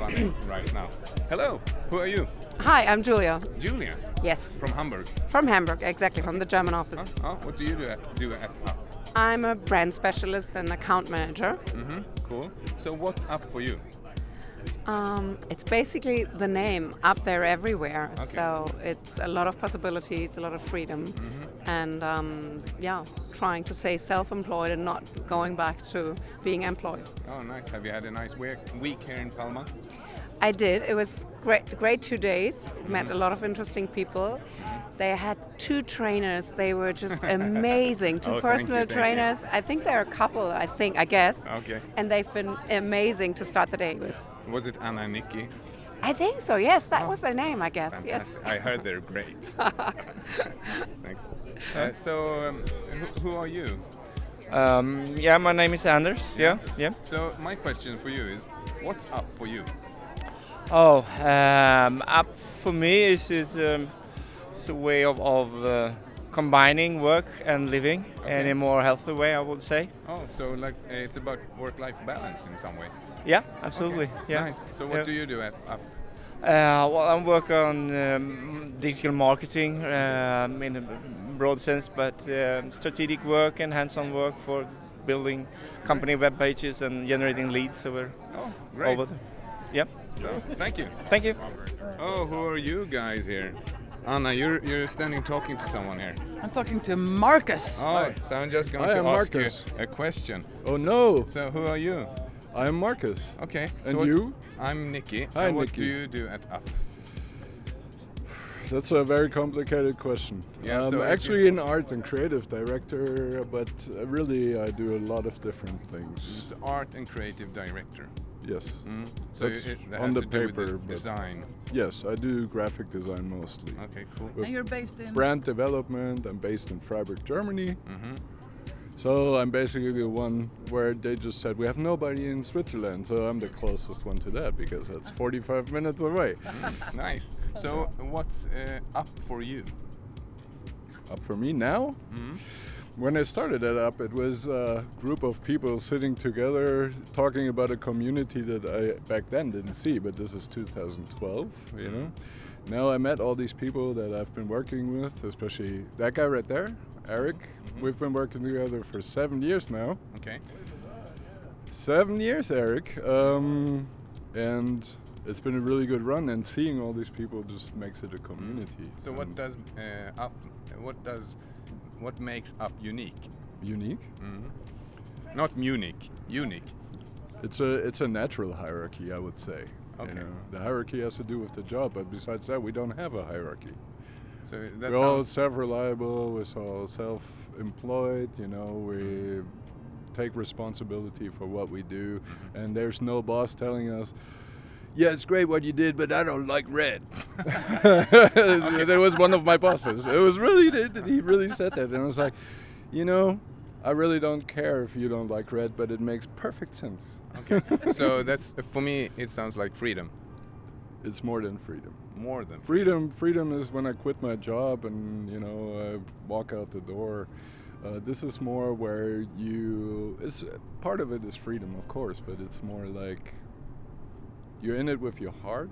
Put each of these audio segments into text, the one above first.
running right now. Hello, who are you? Hi, I'm Julia. Julia? Yes. From Hamburg? From Hamburg, exactly, from the German office. What do you do at Up? I'm a brand specialist and account manager. Cool. So what's Up for you? It's basically the name, up there everywhere. Okay. So it's a lot of possibilities, a lot of freedom, and trying to stay self-employed and not going back to being employed. Oh, nice. Have you had a nice week here in Palma? I did. It was great 2 days. Met a lot of interesting people. They had 2 trainers. They were just amazing. Two personal thank you. trainers. I think they're a couple, I guess. Okay. And they've been amazing to start the day with. Was it Anna and Nikki? I think so, yes. That was their name, I guess. Fantastic. Yes. I heard they're great. Thanks. Who are you? My name is Anders. Yeah. So my question for you is, what's up for you? Up for me is it's a way of combining work and living in a more healthy way, I would say. Oh, so like it's about work-life balance in some way. Yeah, absolutely. Okay. Yeah. Nice. So what do you do at Up? I work on digital marketing in a broad sense, but strategic work and hands-on work for building company web pages and generating leads over Great. there. Yep. So, thank you. Thank you. Oh, who are you guys here? Anna, you're standing talking to someone here. I'm talking to Marcus. Oh, so I'm just going to ask Marcus. you a question. Oh no, So who are you? I am Marcus. Okay. And so you? I'm Nikki. Hi, and what Nikki. do you do at Up? That's a very complicated question. Yeah, I'm so if actually an art and creative director, but really I do a lot of different things. It's art and creative director. Yes. So That's that on has the to do with paper, the but- design. Yes, I do graphic design mostly. Okay, cool. With And you're based in... brand development. I'm based in Freiburg, Germany. Mm-hmm. So I'm basically the one where they just said we have nobody in Switzerland, so I'm the closest one to that because that's 45 minutes away. Nice. So what's up for you? Up for me now? When I started it up, it was a group of people sitting together talking about a community that I back then didn't see, but this is 2012, you know. Now I met all these people that I've been working with, especially that guy right there, Eric. We've been working together for 7 years now. Okay. 7 years, Eric. And it's been a really good run, and seeing all these people just makes it a community. So what does what makes Up unique? Unique? Not Munich, unique. It's a natural hierarchy, I would say. Okay. You know, the hierarchy has to do with the job, but besides that, we don't have a hierarchy. So that We're all sounds self-reliable. We're all self-employed. You know, we take responsibility for what we do, and there's no boss telling us, "Yeah, it's great what you did, but I don't like red." There was one of my bosses. It was really he really said that, and I was like, you know, I really don't care if you don't like red, but it makes perfect sense. Okay. So that's for me. It sounds like freedom. It's more than freedom. More than Freedom is when I quit my job and, you know, I walk out the door. This is more where part of it is freedom, of course, but it's more like you're in it with your heart.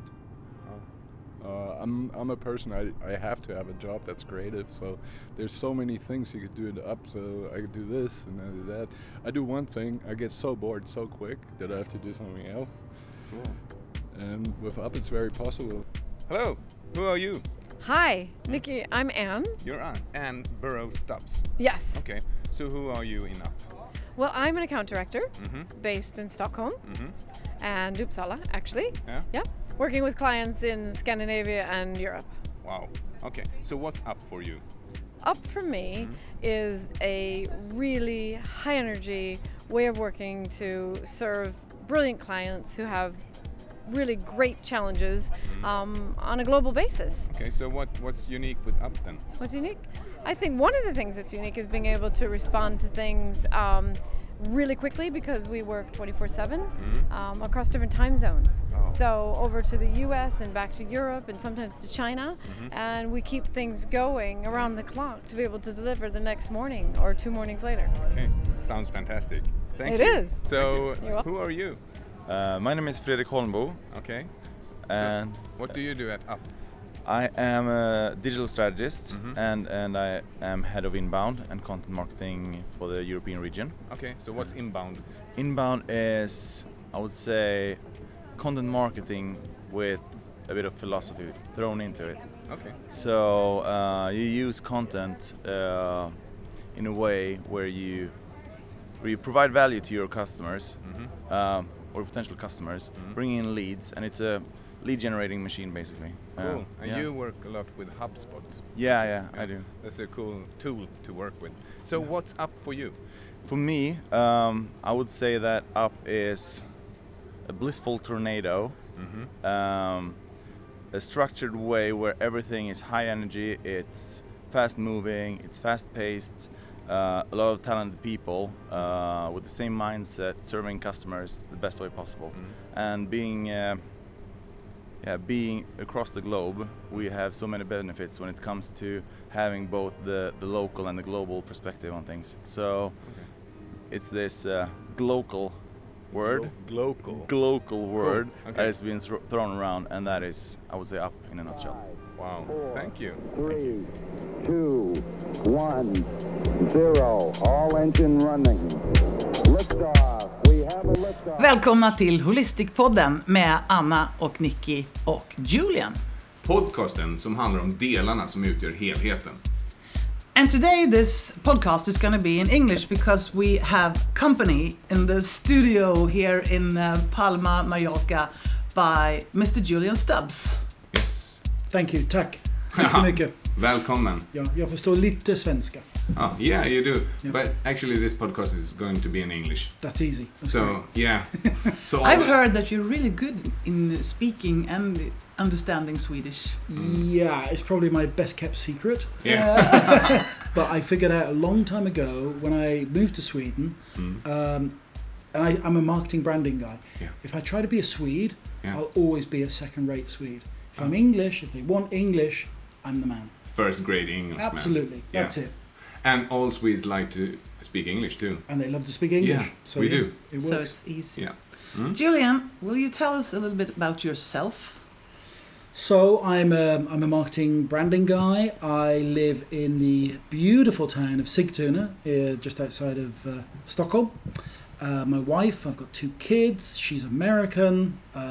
I'm a person, I have to have a job that's creative, so there's so many things you could do in Up, so I could do this and I do that. I do one thing, I get so bored so quick that I have to do something else. Cool. And with Up it's very possible. Hello, who are you? Hi, Nikki. I'm Anne. You're Anne Burrow Stubbs. Yes. Okay, so who are you in Up? Well, I'm an account director based in Stockholm and Uppsala, actually. Yeah? Yeah. Working with clients in Scandinavia and Europe. Wow. Okay, so what's Up for you? Up for me is a really high energy way of working to serve brilliant clients who have really great challenges on a global basis. Okay, so what's unique with Up then? What's unique? I think one of the things that's unique is being able to respond to things really quickly because we work 24/7 across different time zones. Oh. So over to the US and back to Europe and sometimes to China, and we keep things going around the clock to be able to deliver the next morning or 2 mornings later. Okay, sounds fantastic. Thank It you. is. So, You're welcome. who are you? My name is Fredrik Holmbo. Okay. And what do you do at Up? I am a digital strategist and I am head of inbound and content marketing for the European region. Okay, so what's inbound? Inbound is, I would say, content marketing with a bit of philosophy thrown into it. Okay. So you use content in a way where you provide value to your customers or potential customers, bringing in leads, and it's a lead generating machine basically. Cool. And you work a lot with HubSpot. Yeah, I do. That's a cool tool to work with. So what's Up for you? For me, I would say that Up is a blissful tornado, a structured way where everything is high energy, it's fast moving, it's fast paced, a lot of talented people with the same mindset, serving customers the best way possible. And being across the globe, we have so many benefits when it comes to having both the local and the global perspective on things. So it's this glocal word, glocal word that has been thrown around, and that is, I would say, Up in a nutshell. Wow, thank you. 3, 2, 1, 0. All engine running. Liftoff. We have a liftoff. Välkomna till Holistic-podden med Anna och Nicky och Julian. Podcasten som handlar om delarna som utgör helheten. And today this podcast is going to be in English because we have company in the studio here in Palma, Mallorca by Mr. Julian Stubbs. Yes. Thank you, tack. Tack så mycket. Välkommen. Ja, jag förstår lite svenska. Yeah, you do. Yeah. But actually this podcast is going to be in English. That's easy. That's so, great. Yeah. So I've heard that you're really good in speaking and understanding Swedish. Yeah, it's probably my best kept secret. Yeah. But I figured out a long time ago when I moved to Sweden, and I'm a marketing branding guy. Yeah. If I try to be a Swede, I'll always be a second-rate Swede. If I'm English, if they want English, I'm the man. First grade English. Absolutely, that's it. And all Swedes like to speak English too. And they love to speak English. Yeah, so we do. It works. So it's easy. Yeah. Julian, will you tell us a little bit about yourself? So I'm a marketing branding guy. I live in the beautiful town of Sigtuna, just outside of Stockholm. My wife, I've got 2 kids. She's American.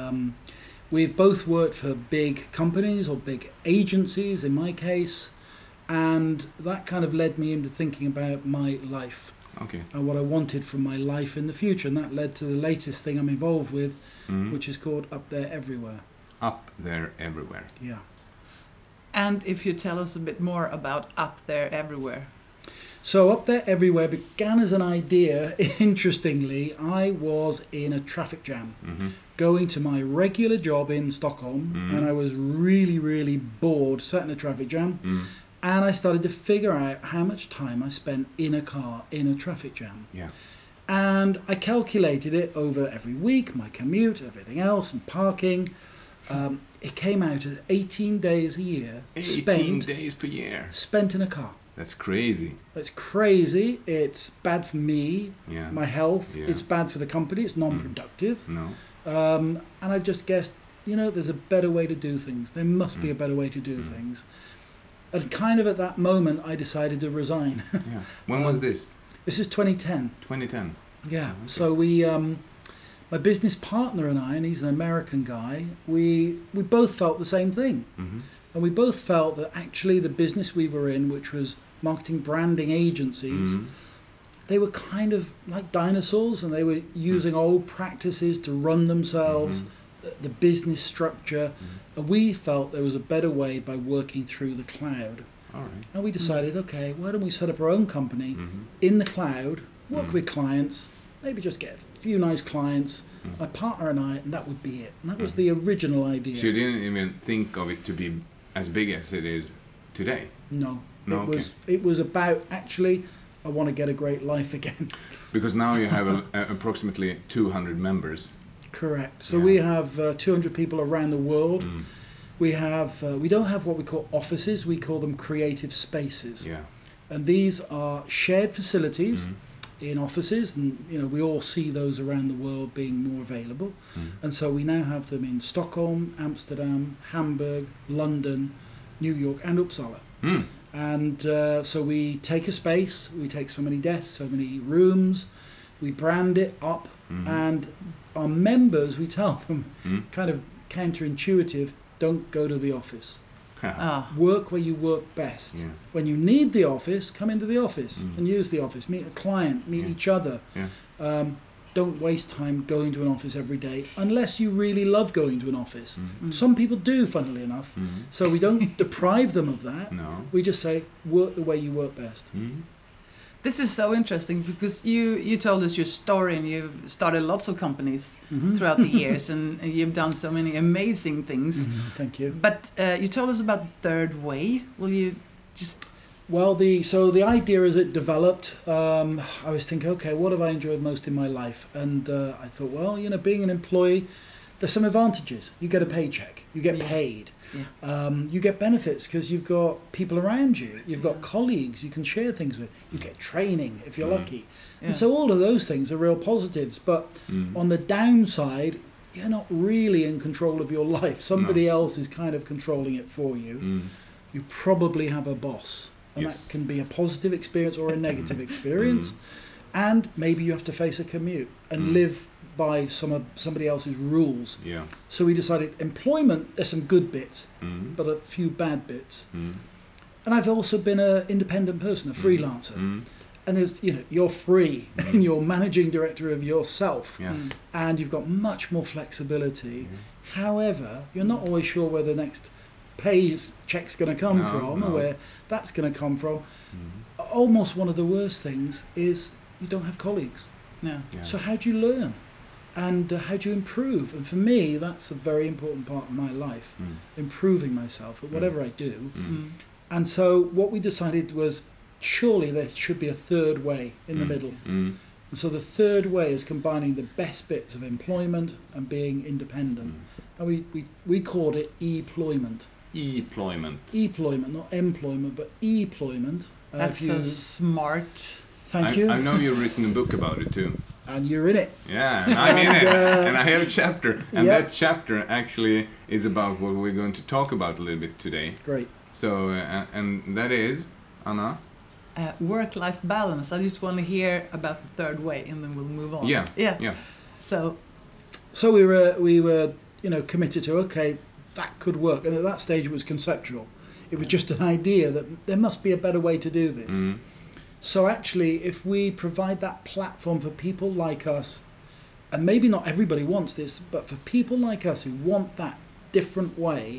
We've both worked for big companies or big agencies in my case, and that kind of led me into thinking about my life. Okay. And what I wanted from my life in the future, and that led to the latest thing I'm involved with, which is called Up There Everywhere. Up There Everywhere. Yeah. And if you tell us a bit more about Up There Everywhere. So Up There Everywhere began as an idea. Interestingly, I was in a traffic jam going to my regular job in Stockholm, and I was really, really bored, sat in a traffic jam, and I started to figure out how much time I spent in a car in a traffic jam. Yeah. And I calculated it over every week, my commute, everything else, and parking. It came out as 18 days a year 18 days per year spent in a car. That's crazy. It's crazy. It's bad for me, Yeah. my health. Yeah. It's bad for the company. It's non-productive. No. And I just guessed, there's a better way to do things. There must be a better way to do things. And kind of at that moment, I decided to resign. Yeah. When was this? This is 2010. 2010. Yeah. Okay. So we, my business partner and I, and he's an American guy, we both felt the same thing. And we both felt that actually the business we were in, which was marketing branding agencies, they were kind of like dinosaurs, and they were using old practices to run themselves, the business structure. And we felt there was a better way by working through the cloud. All right. And we decided, okay, why don't we set up our own company in the cloud, work with clients, maybe just get a few nice clients, my partner and I, and that would be it. And that was the original idea. So you didn't even think of it to be as big as it is today? No. No, It was about, actually, I want to get a great life again. Because now you have approximately 200 members. Correct. So we have 200 people around the world. We have we don't have what we call offices. We call them creative spaces. Yeah. And these are shared facilities in offices, and we all see those around the world being more available. And so we now have them in Stockholm, Amsterdam, Hamburg, London, New York, and Uppsala. And so we take a space, we take so many desks, so many rooms, we brand it up, and our members, we tell them, kind of counterintuitive, don't go to the office. Work where you work best. When you need the office, come into the office and use the office. Meet a client, meet each other. Don't waste time going to an office every day unless you really love going to an office. Some people do, funnily enough. So we don't deprive them of that. No. We just say, work the way you work best. This is so interesting because you told us your story, and you've started lots of companies throughout the years, and you've done so many amazing things. Thank you. But you told us about the third way. Will you just... Well, the idea as it developed, I was thinking, okay, what have I enjoyed most in my life? And I thought, well, being an employee, there's some advantages. You get a paycheck, you get paid, you get benefits because you've got people around you, you've got colleagues you can share things with, you get training if you're lucky. And so all of those things are real positives. But on the downside, you're not really in control of your life. Somebody else is kind of controlling it for you. You probably have a boss. And that can be a positive experience or a negative experience. And maybe you have to face a commute and live by somebody else's rules. So we decided employment, there's some good bits, but a few bad bits. And I've also been an independent person, a freelancer. And there's, you're free and you're managing director of yourself. And you've got much more flexibility. However, you're not always sure where the next check's going to come from, or where that's going to come from. Almost one of the worst things is you don't have colleagues. So how do you learn, and how do you improve? And for me, that's a very important part of my life, improving myself at whatever I do. And so what we decided was, surely there should be a third way in the middle. And so the third way is combining the best bits of employment and being independent. And we called it e-ployment. E-ployment, not employment, but e-ployment. That's so smart. Thank you. I know you've written a book about it too. And you're in it. Yeah, and I'm in it. And I have a chapter. And that chapter actually is about what we're going to talk about a little bit today. Great. So, and that is, Anna? Work-life balance. I just want to hear about the third way, and then we'll move on. Yeah. So we were committed to, okay, that could work. And at that stage it was conceptual. It was just an idea that there must be a better way to do this. So actually, if we provide that platform for people like us, and maybe not everybody wants this, but for people like us who want that different way,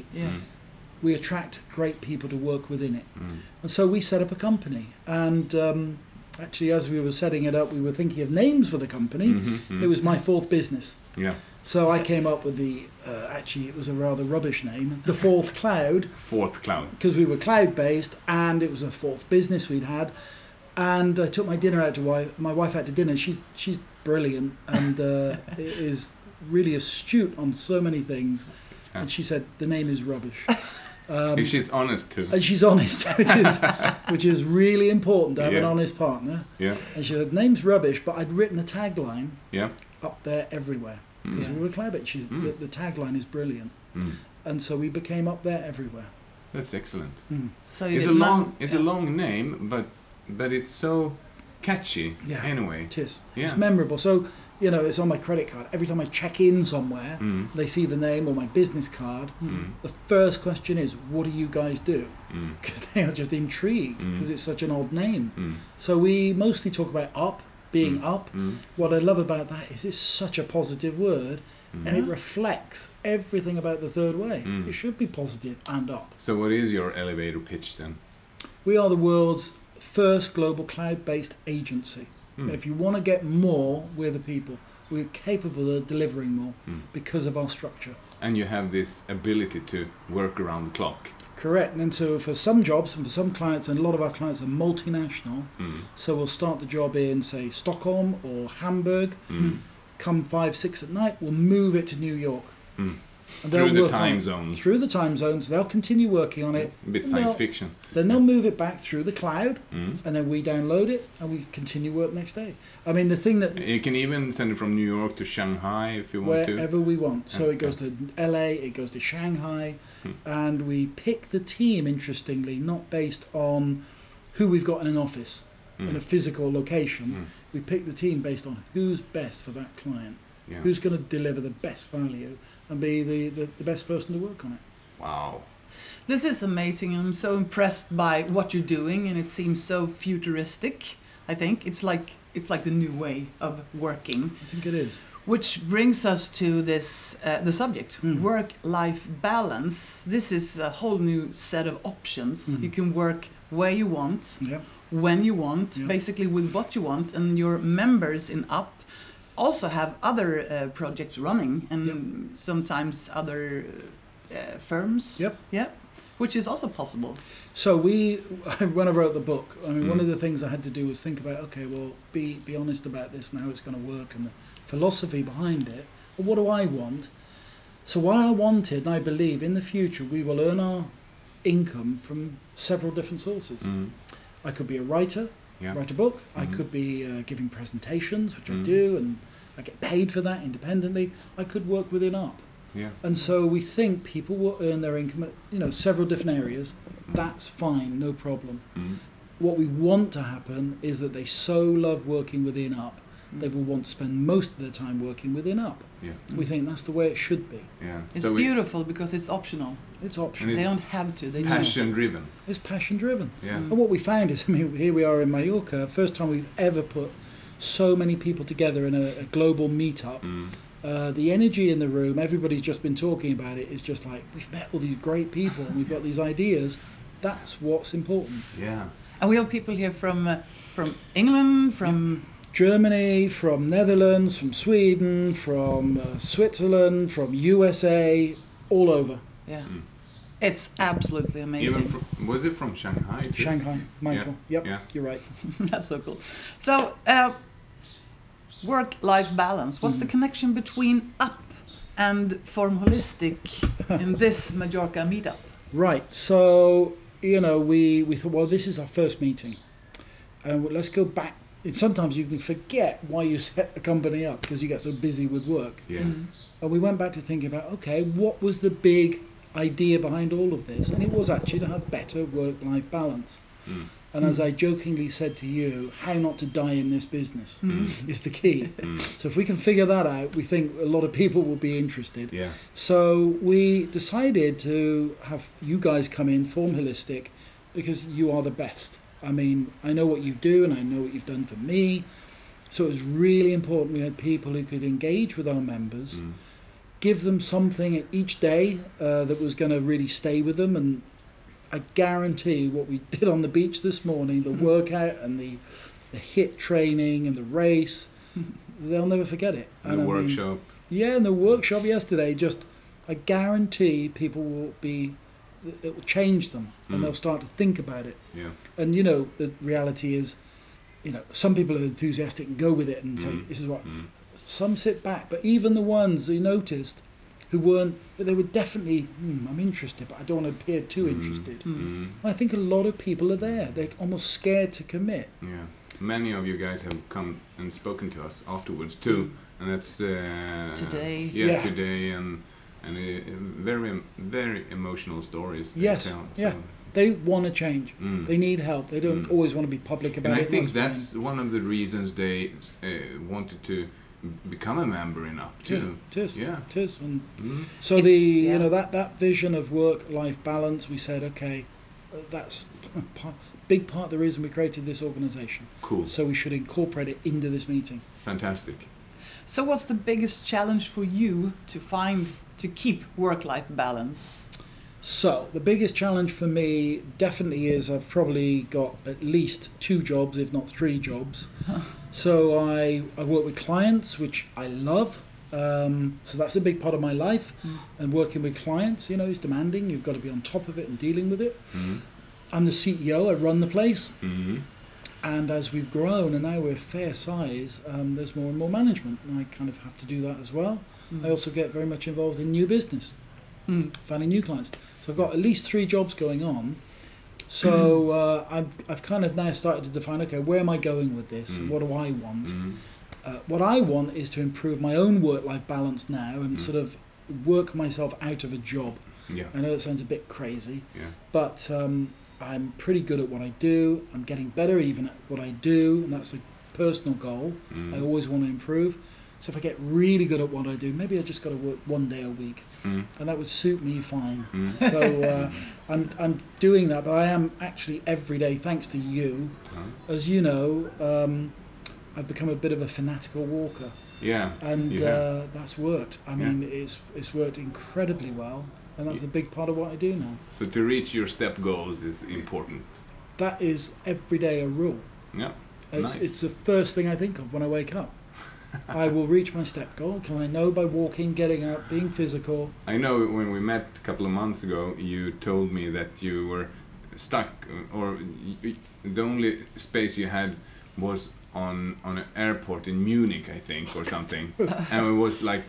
we attract great people to work within it. And so we set up a company. And actually, as we were setting it up, we were thinking of names for the company. It was my fourth business. So I came up with actually it was a rather rubbish name, the Fourth Cloud. Fourth Cloud. Because we were cloud-based, and it was a fourth business we'd had. And I took my dinner out to my wife out to dinner. She's brilliant and is really astute on so many things. And she said, the name is rubbish. And she's honest too. And she's honest, which is really important to have an honest partner. And she said, name's rubbish, but I'd written a tagline up there everywhere. Because we were cloud-based. The tagline is brilliant. And so we became up there everywhere. That's excellent. So it's a long name, but it's so catchy anyway. It is. It's memorable. So, it's on my credit card. Every time I check in somewhere, they see the name or my business card. The first question is, what do you guys do? Because they are just intrigued because it's such an odd name. So we mostly talk about being up. What I love about that is it's such a positive word, and it reflects everything about the third way. It should be positive and up. So what is your elevator pitch then? We are the world's first global cloud-based agency. If you want to get more, we're the people. We're capable of delivering more because of our structure. And you have this ability to work around the clock. Correct. And so for some jobs and for some clients, and a lot of our clients are multinational, so we'll start the job in, say, Stockholm or Hamburg, come 5, 6 at night, we'll move it to New York. Through the time zones. Through the time zones. They'll continue working on it. A bit science fiction. Then they'll move it back through the cloud, and then we download it, and we continue work next day. I mean, the thing that... You can even send it from New York to Shanghai if you want to. Wherever we want. So it goes to LA, it goes to Shanghai, and we pick the team, interestingly, not based on who we've got in an office, in a physical location. We pick the team based on who's best for that client, who's going to deliver the best value and be the best person to work on it. Wow. This is amazing. I'm so impressed by what you're doing, and it seems so futuristic. I think it's like the new way of working. I think it is. Which brings us to this the subject, work-life balance. This is a whole new set of options. You can work where you want, when you want, basically with what you want, and your members in UP also have other projects running, and sometimes other firms. Which is also possible. So when I wrote the book, I mean, one of the things I had to do was think about, okay, well, be honest about this and how it's going to work and the philosophy behind it. Well, what do I want? So what I wanted, and I believe in the future, we will earn our income from several different sources. I could be a writer, write a book. I could be giving presentations, which I do, and I get paid for that independently. I could work within UP. And so we think people will earn their income at several different areas. That's fine, no problem. What we want to happen is that they so love working within UP, they will want to spend most of their time working within UP. We think that's the way it should be. It's so beautiful because it's optional. It's optional. They don't have to. They passion driven. It's passion driven. And what we found is, I mean, here we are in Mallorca, first time we've ever put so many people together in a global meetup. The energy in the room, everybody's just been talking about it, is just like, we've met all these great people and we've got these ideas. That's what's important. And we have people here from England, from Germany, from Netherlands, from Sweden, from Switzerland, from USA, all over. It's absolutely amazing. Even was it from Shanghai too? Shanghai, Michael. Yep, you're right. That's so cool. So, work-life balance. What's the connection between UP and Form Holistic in this Mallorca meetup? Right. So, we thought, well, this is our first meeting. And let's go back. Sometimes you can forget why you set a company up because you get so busy with work. And we went back to thinking about, okay, what was the big idea behind all of this? And it was actually to have better work-life balance. And as I jokingly said to you, how not to die in this business is the key. So if we can figure that out, we think a lot of people will be interested. So we decided to have you guys come in, Form Holistic, because you are the best. I mean, I know what you do and I know what you've done for me. So it was really important we had people who could engage with our members, give them something each day that was going to really stay with them. And I guarantee what we did on the beach this morning, the workout and the HIIT training and the race, they'll never forget it. And the workshop. And the workshop yesterday, I guarantee people will it will change them and they'll start to think about it. And the reality is, some people are enthusiastic and go with it and say, this is what. Some sit back, but even the ones who noticed who weren't, they were definitely, I'm interested, but I don't want to appear too interested. I think a lot of people are there. They're almost scared to commit. Many of you guys have come and spoken to us afterwards too, and that's today. Today, and very, very emotional stories. Tell, they want to change. They need help. They don't always want to be public about it. And I think that's one of the reasons they wanted to become a member in UP too. It is. And so that vision of work-life balance, we said, okay, that's a big part of the reason we created this organisation. Cool. So we should incorporate it into this meeting. Fantastic. So what's the biggest challenge for you to keep work-life balance? So the biggest challenge for me definitely is I've probably got at least 2 jobs, if not 3 jobs. So I work with clients, which I love. So that's a big part of my life. And working with clients, is demanding. You've got to be on top of it and dealing with it. I'm the CEO. I run the place. And as we've grown and now we're fair size, there's more and more management. And I kind of have to do that as well. I also get very much involved in new business. finding new clients. So I've got at least 3 jobs going on. So I've kind of now started to define, okay, where am I going with this? What do I want? What I want is to improve my own work-life balance now and sort of work myself out of a job. Yeah. I know it sounds a bit crazy, but I'm pretty good at what I do. I'm getting better even at what I do, and that's a personal goal. I always want to improve. So if I get really good at what I do, maybe I just got to work 1 day a week, and that would suit me fine. So I'm doing that, but I am actually every day, thanks to you, as you know, I've become a bit of a fanatical walker. Yeah. And that's worked. I mean, it's worked incredibly well, and that's a big part of what I do now. So to reach your step goals is important. That is every day a rule. Yeah. It's the first thing I think of when I wake up. I will reach my step goal. Can I know by walking, getting up, being physical? I know when we met a couple of months ago, you told me that you were stuck, or the only space you had was on an airport in Munich, I think, or something, and it was like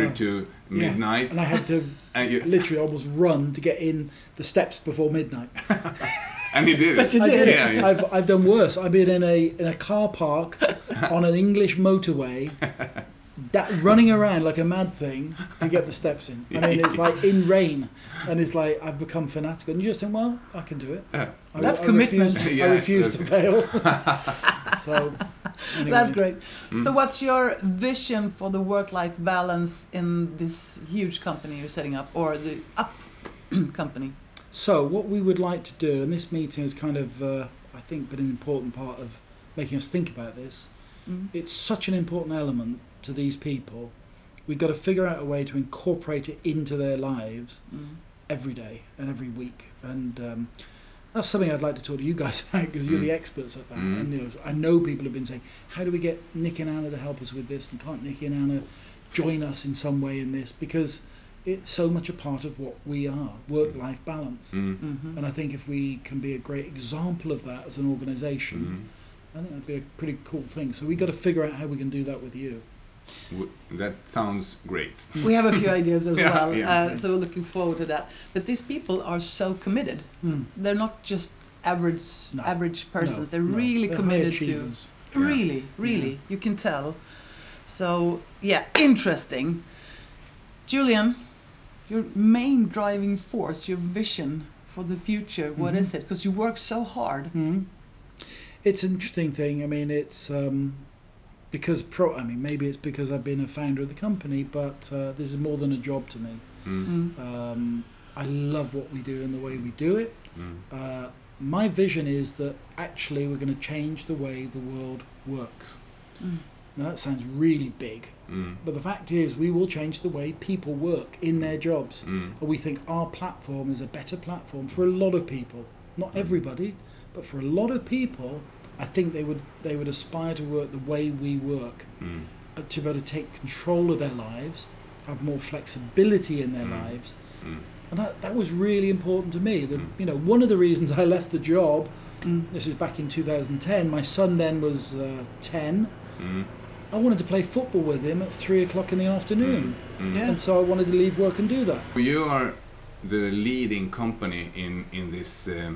1:45 and I had to literally almost run to get in the steps before midnight. And you did But it. you did. Yeah. I've done worse. I've been in a car park on an English motorway, running around like a mad thing to get the steps in. I mean, it's like in rain, and it's like I've become fanatical. And you just think, well, I can do it. That's commitment. I refuse to fail. So anyway. That's great. So what's your vision for the work-life balance in this huge company you're setting up, or the Up company? So what we would like to do, and this meeting has kind of, I think, been an important part of making us think about this. It's such an important element to these people. We've got to figure out a way to incorporate it into their lives every day and every week. And that's something I'd like to talk to you guys about, because you're the experts at that. And I know people have been saying, how do we get Nick and Anna to help us with this? And can't Nick and Anna join us in some way in this? Because it's so much a part of what we are, work-life balance. And I think if we can be a great example of that as an organisation, I think that'd be a pretty cool thing. So we've got to figure out how we can do that with you. That sounds great. We have a few ideas as well, Yeah. so we're looking forward to that. But these people are so committed. They're not just average persons. They're really committed to. Really, you can tell. So interesting. Julian, your main driving force, your vision for the future, what is it? Because you work so hard. It's an interesting thing. I mean, it's because maybe it's because I've been a founder of the company, but this is more than a job to me. I love what we do and the way we do it. My vision is that actually we're going to change the way the world works. Now that sounds really big, but the fact is we will change the way people work in their jobs. And we think our platform is a better platform for a lot of people. Not everybody, but for a lot of people, I think they would aspire to work the way we work, to be able to take control of their lives, have more flexibility in their lives. And that was really important to me. That, one of the reasons I left the job, this was back in 2010, my son then was 10. I wanted to play football with him at 3:00 in the afternoon. And so I wanted to leave work and do that. You are the leading company in this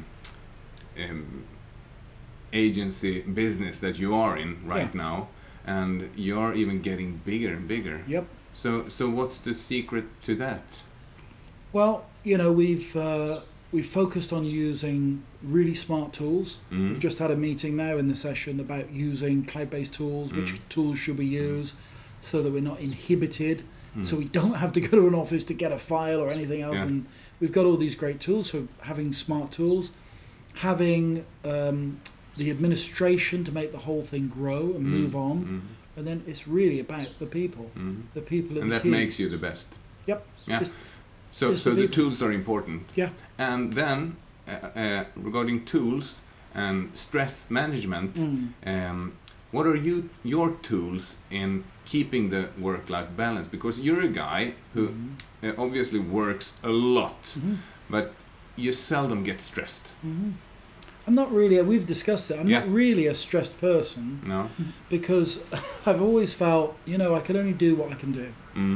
agency business that you are in right now, and you're even getting bigger and bigger. Yep. So what's the secret to that? Well, we've focused on using really smart tools. We've just had a meeting now in the session about using cloud-based tools, which tools should we use so that we're not inhibited, so we don't have to go to an office to get a file or anything else. And we've got all these great tools, so having smart tools, having the administration to make the whole thing grow and move on, and then it's really about the people. The people are and the that key. makes you the best. Yep. Yeah. So the tools are important. Yeah. And then regarding tools and stress management, what are your tools in keeping the work-life balance? Because you're a guy who obviously works a lot, but you seldom get stressed. I'm not really, we've discussed it, I'm not really a stressed person. No. Because I've always felt, I can only do what I can do.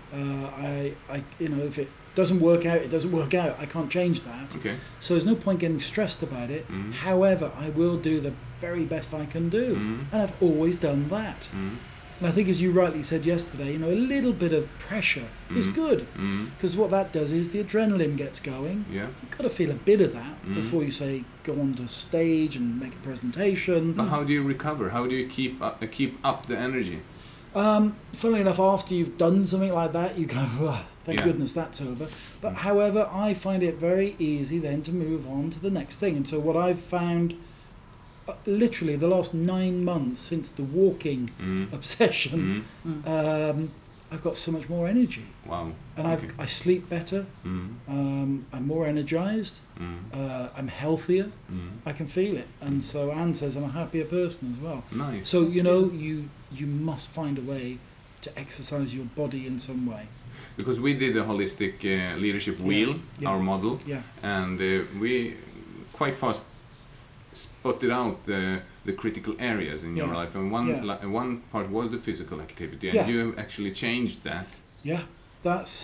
If it doesn't work out, it doesn't work out. I can't change that. Okay. So there's no point getting stressed about it. Mm. However, I will do the very best I can do, and I've always done that. And I think, as you rightly said yesterday, a little bit of pressure is good, because what that does is the adrenaline gets going. Yeah. You've got to feel a bit of that before you say go on to stage and make a presentation. But how do you recover? How do you keep up the energy? Funnily enough, after you've done something like that, you go, thank goodness that's over. But however, I find it very easy then to move on to the next thing. And so what I've found, literally the last 9 months since the walking obsession, I've got so much more energy. Wow. And I sleep better. I'm more energized. I'm healthier. I can feel it. And so Anne says I'm a happier person as well. Nice. So, you must find a way to exercise your body in some way. Because we did a holistic leadership wheel, our model, and we quite fast spotted out the critical areas in your life, and one part was the physical activity, and you actually changed that. Yeah, that's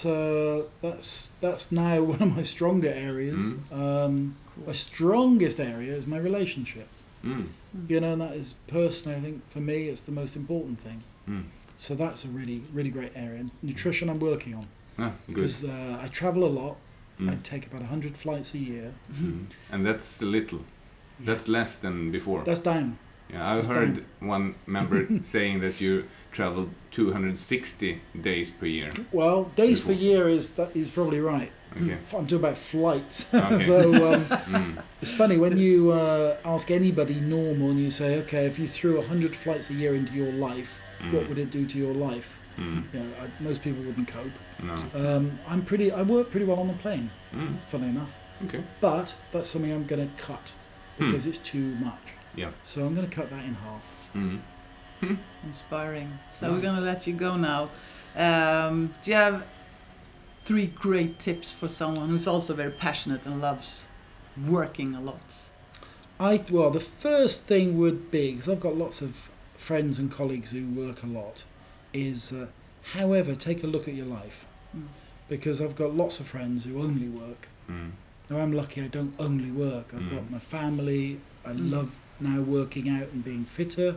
now one of my stronger areas. My strongest area is my relationships. And that is personally, I think for me, it's the most important thing. So that's a really, really great area. And nutrition I'm working on. Because I travel a lot. I take about 100 flights a year. And that's little. That's less than before. That's down. Yeah, I heard one member saying that you traveled 260 days per year. Well, days per year is probably right. Okay. I'm talking about flights. Okay. So it's funny when you ask anybody normal and you say, okay, if you threw 100 flights a year into your life, what would it do to your life? Most people wouldn't cope. No. I work pretty well on the plane. Funny enough. Okay. But that's something I'm going to cut because it's too much. Yeah. So I'm going to cut that in half. Inspiring. So we're going to let you go now. Do you have 3 great tips for someone who's also very passionate and loves working a lot? Well, the first thing would be, because I've got lots of friends and colleagues who work a lot, is however, take a look at your life. Because I've got lots of friends who only work. Now I'm lucky I don't only work. I've got my family. I love now working out and being fitter.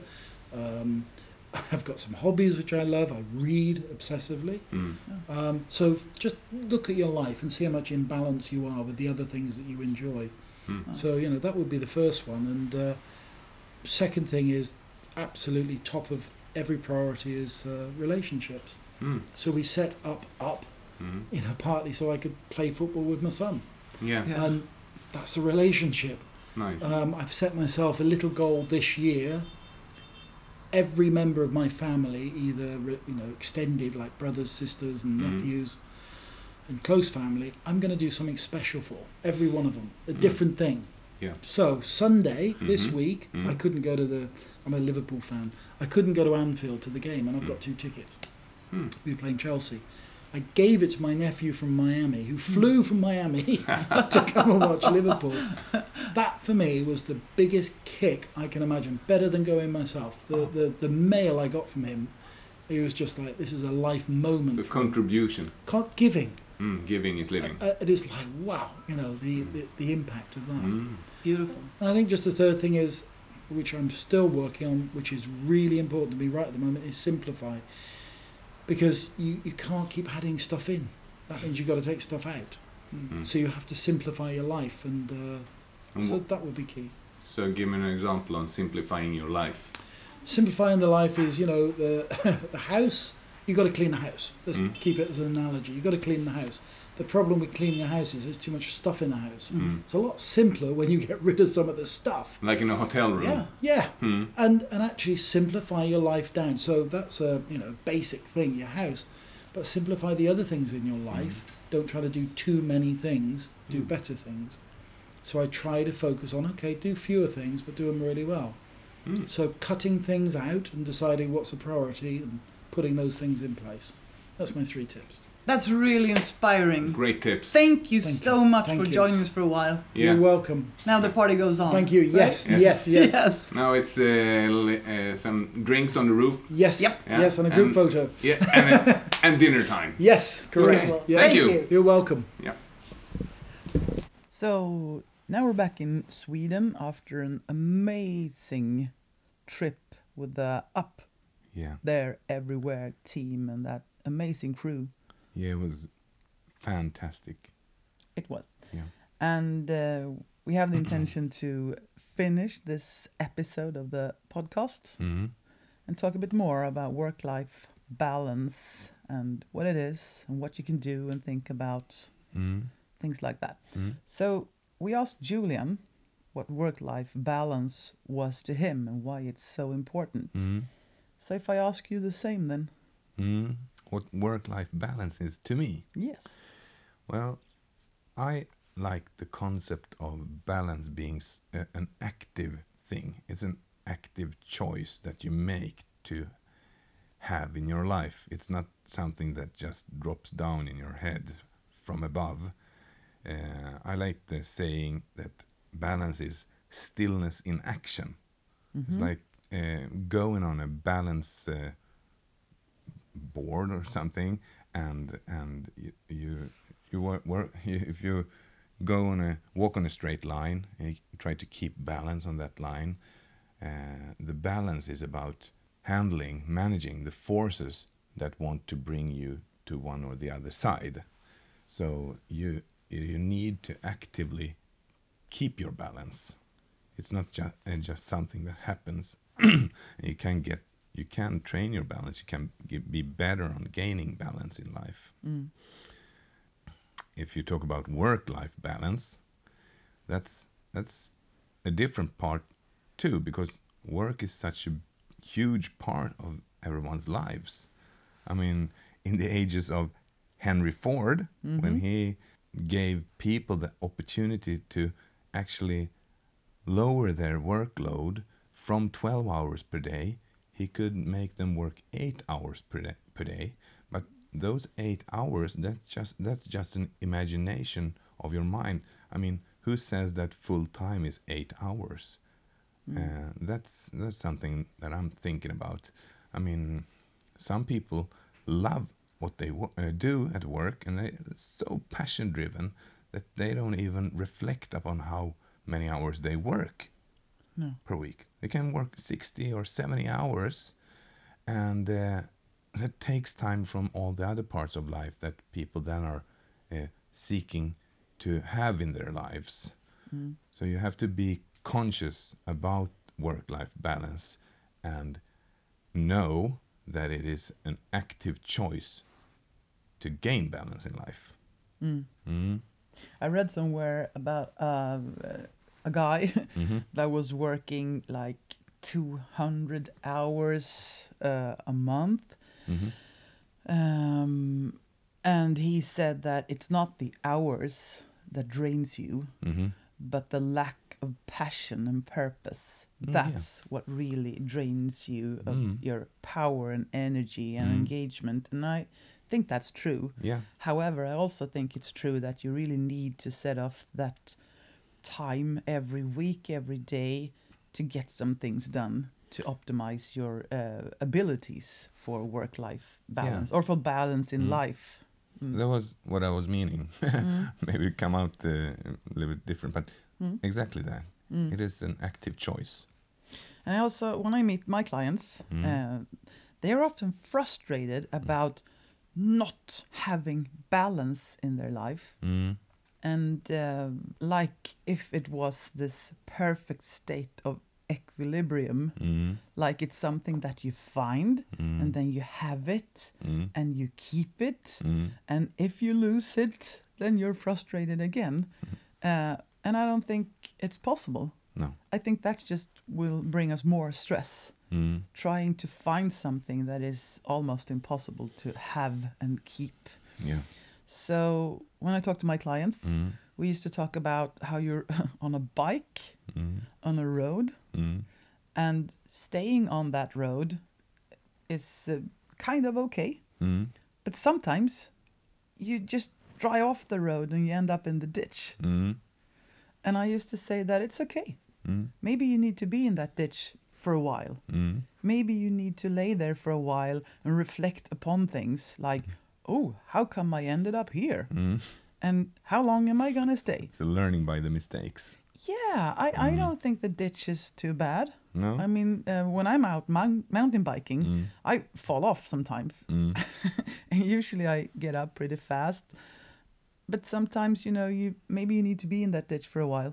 I've got some hobbies which I love. I read obsessively. So just look at your life and see how much in balance you are with the other things that you enjoy. So, that would be the first one. And second thing is absolutely top of every priority is relationships. So we set up, partly so I could play football with my son. Yeah. And that's a relationship. Nice. I've set myself a little goal this year. Every member of my family, either extended like brothers, sisters, and nephews, and close family, I'm going to do something special for every one of them, a different thing. Yeah. So Sunday this week, I couldn't go to I'm a Liverpool fan. I couldn't go to Anfield to the game, and I've got 2 tickets. We were playing Chelsea. I gave it to my nephew from Miami, who flew from Miami to come and watch Liverpool. That, for me, was the biggest kick I can imagine, better than going myself. The mail I got from him, he was just like, this is a life moment. It's a contribution. Giving. Giving is living. It is like, wow, the impact of that. Beautiful. And I think just the third thing is, which I'm still working on, which is really important to me right at the moment, is simplify. Because you can't keep adding stuff in. That means you've got to take stuff out. So you have to simplify your life, and so that would be key. So give me an example on simplifying your life. Simplifying the life is, the house, you've got to clean the house. Let's keep it as an analogy. You've got to clean the house. The problem with cleaning a house is there's too much stuff in the house. It's a lot simpler when you get rid of some of the stuff. Like in a hotel room. Yeah. And actually simplify your life down. So that's a basic thing, your house. But simplify the other things in your life. Don't try to do too many things. Do better things. So I try to focus on, do fewer things, but do them really well. So cutting things out and deciding what's a priority and putting those things in place. That's my 3 tips. That's really inspiring. Great tips. Thank you so much for joining us for a while. Yeah. You're welcome. Now the party goes on. Thank you. Yes, right? yes. Now it's some drinks on the roof. Yes, yes, and a group photo. Yeah, and and dinner time. Yes, correct. Okay. Yeah. Thank you. You're welcome. Yeah. So now we're back in Sweden after an amazing trip with the Up There Everywhere team and that amazing crew. Yeah, it was fantastic. It was. Yeah. And we have the intention to finish this episode of the podcast and talk a bit more about work-life balance and what it is and what you can do and think about, things like that. So we asked Julian what work-life balance was to him and why it's so important. So if I ask you the same then. What work-life balance is to me? Yes. Well, I like the concept of balance being an active thing. It's an active choice that you make to have in your life. It's not something that just drops down in your head from above. I like the saying that balance is stillness in action. It's like going on a balance board or something, and you if you walk on a straight line and you try to keep balance on that line, the balance is about managing the forces that want to bring you to one or the other side. So you need to actively keep your balance. It's not just something that happens. You can train your balance. You can be better on gaining balance in life. If you talk about work-life balance, that's a different part too, because work is such a huge part of everyone's lives. I mean, in the ages of Henry Ford, when he gave people the opportunity to actually lower their workload from 12 hours per day, he could make them work 8 hours per day. But those 8 hours, that's just an imagination of your mind. I mean, who says that full time is 8 hours? That's something that I'm thinking about. I mean, some people love what they do at work, and they're so passion driven that they don't even reflect upon how many hours they work per week. They can work 60 or 70 hours, and that takes time from all the other parts of life that people then are seeking to have in their lives. So you have to be conscious about work-life balance and know that it is an active choice to gain balance in life. I read somewhere about a guy that was working like 200 hours a month. And he said that it's not the hours that drains you, but the lack of passion and purpose. That's what really drains you of your power and energy and engagement. And I think that's true. However, I also think it's true that you really need to set off that time every week, every day to get some things done, to optimize your abilities for work-life balance or for balance in life. That was what I was meaning. Maybe it come out a little bit different, but exactly that. It is an active choice. And I also, when I meet my clients, they are often frustrated about not having balance in their life. And like if it was this perfect state of equilibrium, like it's something that you find and then you have it and you keep it, and if you lose it, then you're frustrated again. And I don't think it's possible. No. I think that just will bring us more stress. Trying to find something that is almost impossible to have and keep. So when I talk to my clients, we used to talk about how you're on a bike, on a road, and staying on that road is kind of okay. But sometimes you just dry off the road and you end up in the ditch. And I used to say that it's okay. Maybe you need to be in that ditch for a while. Maybe you need to lay there for a while and reflect upon things like, oh, how come I ended up here? And how long am I going to stay? So learning by the mistakes. Yeah, I don't think the ditch is too bad. No? I mean, when I'm out mountain biking, I fall off sometimes. And usually I get up pretty fast. But sometimes, maybe you need to be in that ditch for a while.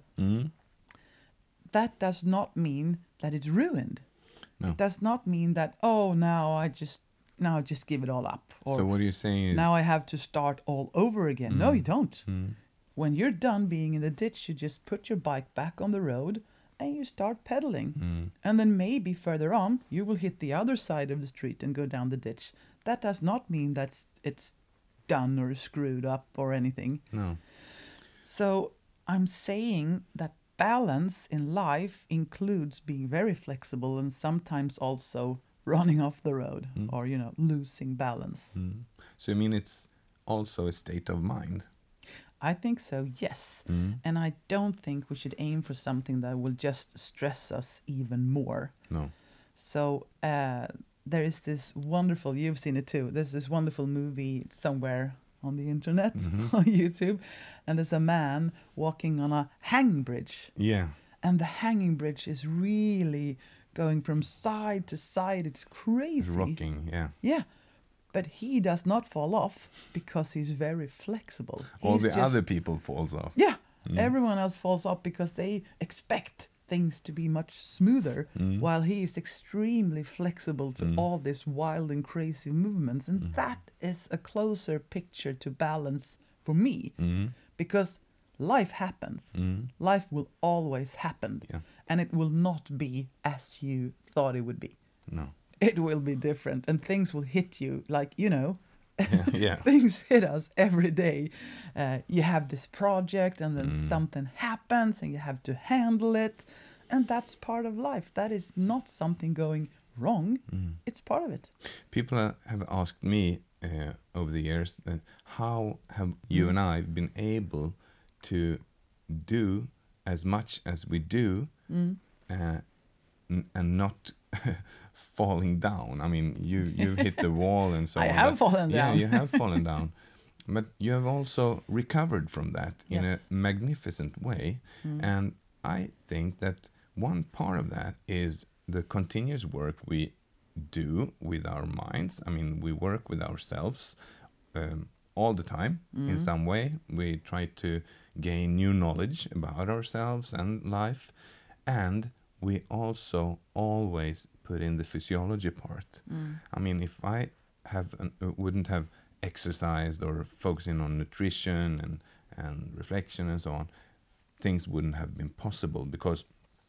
That does not mean that it's ruined. No. It does not mean that, now I just give it all up. Or so what you're saying is... now I have to start all over again. No, you don't. When you're done being in the ditch, you just put your bike back on the road and you start pedaling. And then maybe further on, you will hit the other side of the street and go down the ditch. That does not mean that it's done or screwed up or anything. No. So I'm saying that balance in life includes being very flexible and sometimes also running off the road or, losing balance. So you mean it's also a state of mind? I think so, yes. And I don't think we should aim for something that will just stress us even more. No. So there is this wonderful, you've seen it too, there's this wonderful movie somewhere on the internet, on YouTube, and there's a man walking on a hanging bridge. Yeah. And the hanging bridge is really going from side to side. It's crazy. It's rocking, yeah. Yeah. But he does not fall off because he's very flexible. All the other people falls off. Yeah. Everyone else falls off because they expect things to be much smoother, while he is extremely flexible to all these wild and crazy movements. And that is a closer picture to balance for me, because life happens. Life will always happen, and it will not be as you thought it would be. No. It will be different, and things will hit you like, Yeah. things hit us every day. You have this project and then something happens and you have to handle it. And that's part of life. That is not something going wrong. It's part of it. People have asked me over the years, that how have you and I been able to do as much as we do and not falling down? I mean, you hit the wall and so on. I have fallen down. Yeah, you have fallen down. But you have also recovered from that in a magnificent way. And I think that one part of that is the continuous work we do with our minds. I mean, we work with ourselves all the time in some way. We try to gain new knowledge about ourselves and life. And we also always put in the physiology part. I mean, if I wouldn't have exercised or focusing on nutrition and reflection and so on, things wouldn't have been possible, because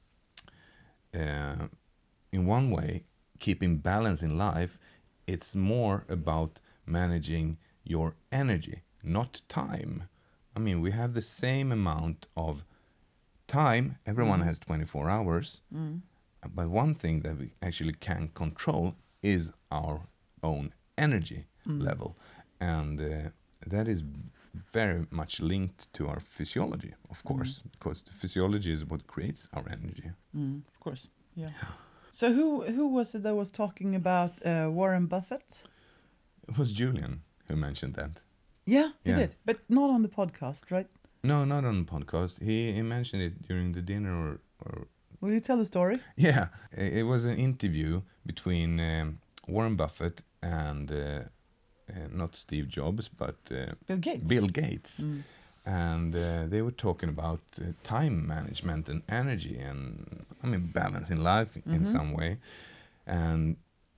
in one way, keeping balance in life, it's more about managing your energy, not time. I mean, we have the same amount of time. Everyone has 24 hours. But one thing that we actually can control is our own energy level. And that is very much linked to our physiology, of course, because the physiology is what creates our energy. Of course, yeah. So who was it that was talking about Warren Buffett? It was Julian who mentioned that. Yeah, he did, but not on the podcast, right? No, not on the podcast. He mentioned it during the dinner or... Will you tell the story? Yeah, it was an interview between Warren Buffett and not Steve Jobs, but Bill Gates. And they were talking about time management and energy and, I mean, balance in life in some way. And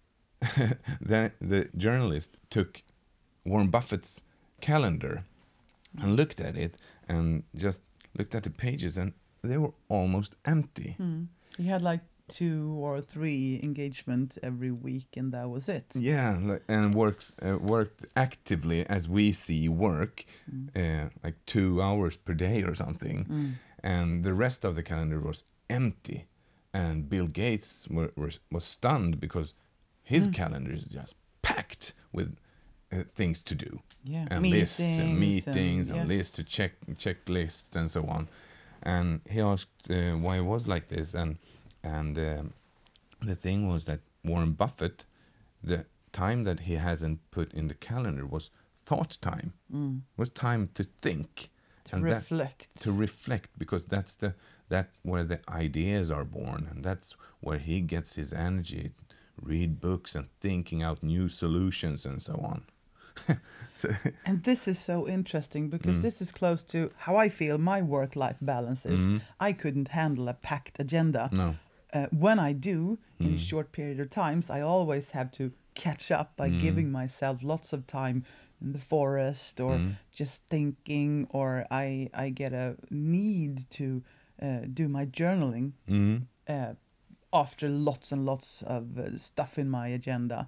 the journalist took Warren Buffett's calendar and looked at it and just looked at the pages, and they were almost empty. He had like 2 or 3 engagement every week, and that was it. Yeah, and worked actively as we see work, like 2 hours per day or something. And the rest of the calendar was empty. And Bill Gates was stunned because his calendar is just packed with things to do. Yeah, and lists and meetings and lists to check lists and so on. And he asked why it was like this, and the thing was that Warren Buffett, the time that he hasn't put in the calendar was thought time. Was time to think. To reflect, because that's where the ideas are born, and that's where he gets his energy. Read books and thinking out new solutions and so on. And this is so interesting because this is close to how I feel my work-life balance is. I couldn't handle a packed agenda. No. When I do, in a short period of times, I always have to catch up by giving myself lots of time in the forest or just thinking, or I get a need to do my journaling after lots and lots of stuff in my agenda.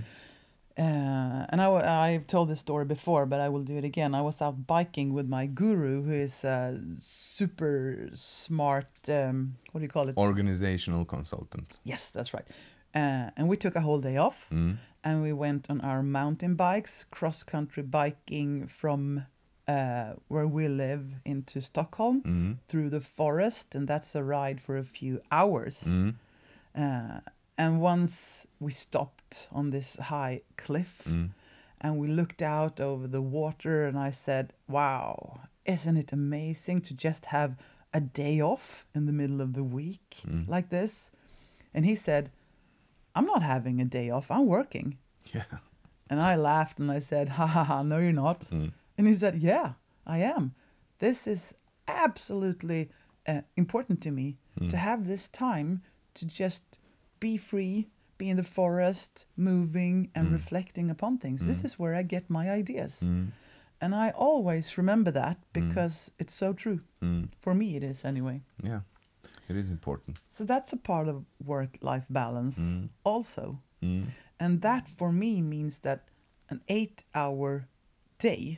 And I've told this story before, but I will do it again. I was out biking with my guru, who is a super smart, what do you call it? Organizational consultant. Yes, that's right. And we took a whole day off, and we went on our mountain bikes, cross-country biking from where we live into Stockholm through the forest, and that's a ride for a few hours. And once we stopped on this high cliff, and we looked out over the water, and I said, wow, isn't it amazing to just have a day off in the middle of the week like this? And he said, I'm not having a day off, I'm working. Yeah. And I laughed and I said, ha ha ha, no you're not. And he said, yeah, I am. This is absolutely important to me, to have this time to just be free, be in the forest, moving and reflecting upon things. This is where I get my ideas. And I always remember that because it's so true. For me it is anyway. Yeah, it is important. So that's a part of work-life balance also. And that for me means that an 8-hour day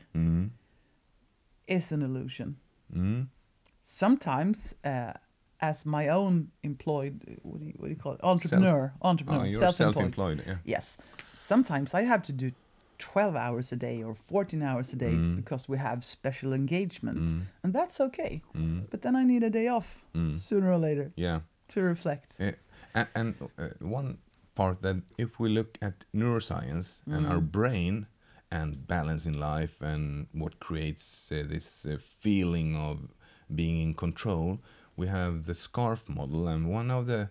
is an illusion. Sometimes as my own employed, what do you call it? Entrepreneur, you're self-employed. Yeah. Yes. Sometimes I have to do 12 hours a day or 14 hours a day because we have special engagement, and that's okay. But then I need a day off sooner or later. Yeah. To reflect. And one part that if we look at neuroscience and our brain and balance in life and what creates this feeling of being in control, we have the SCARF model, and one of the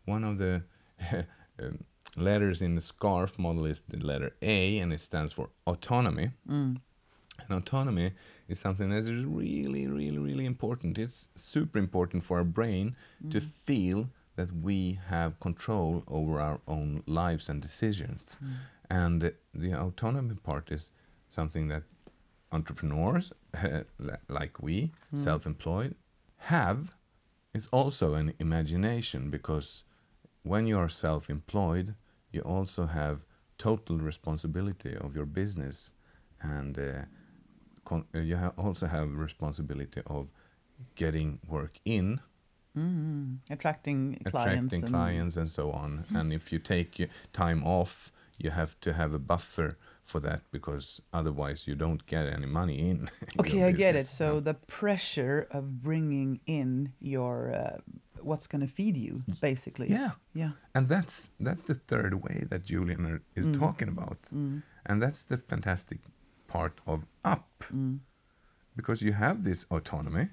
letters in the SCARF model is the letter A, and it stands for autonomy. And autonomy is something that is really, really, really important. It's super important for our brain to feel that we have control over our own lives and decisions. And the autonomy part is something that entrepreneurs, like we, self-employed, have. It's also an imagination, because when you are self-employed, you also have total responsibility of your business, and you also have responsibility of getting work in, attracting clients and so on. And if you take time off, you have to have a buffer for that, because otherwise you don't get any money in. Okay, I get it. So the pressure of bringing in your what's going to feed you, basically. Yeah. And that's the third way that Julian is talking about. And that's the fantastic part of Up. Because you have this autonomy.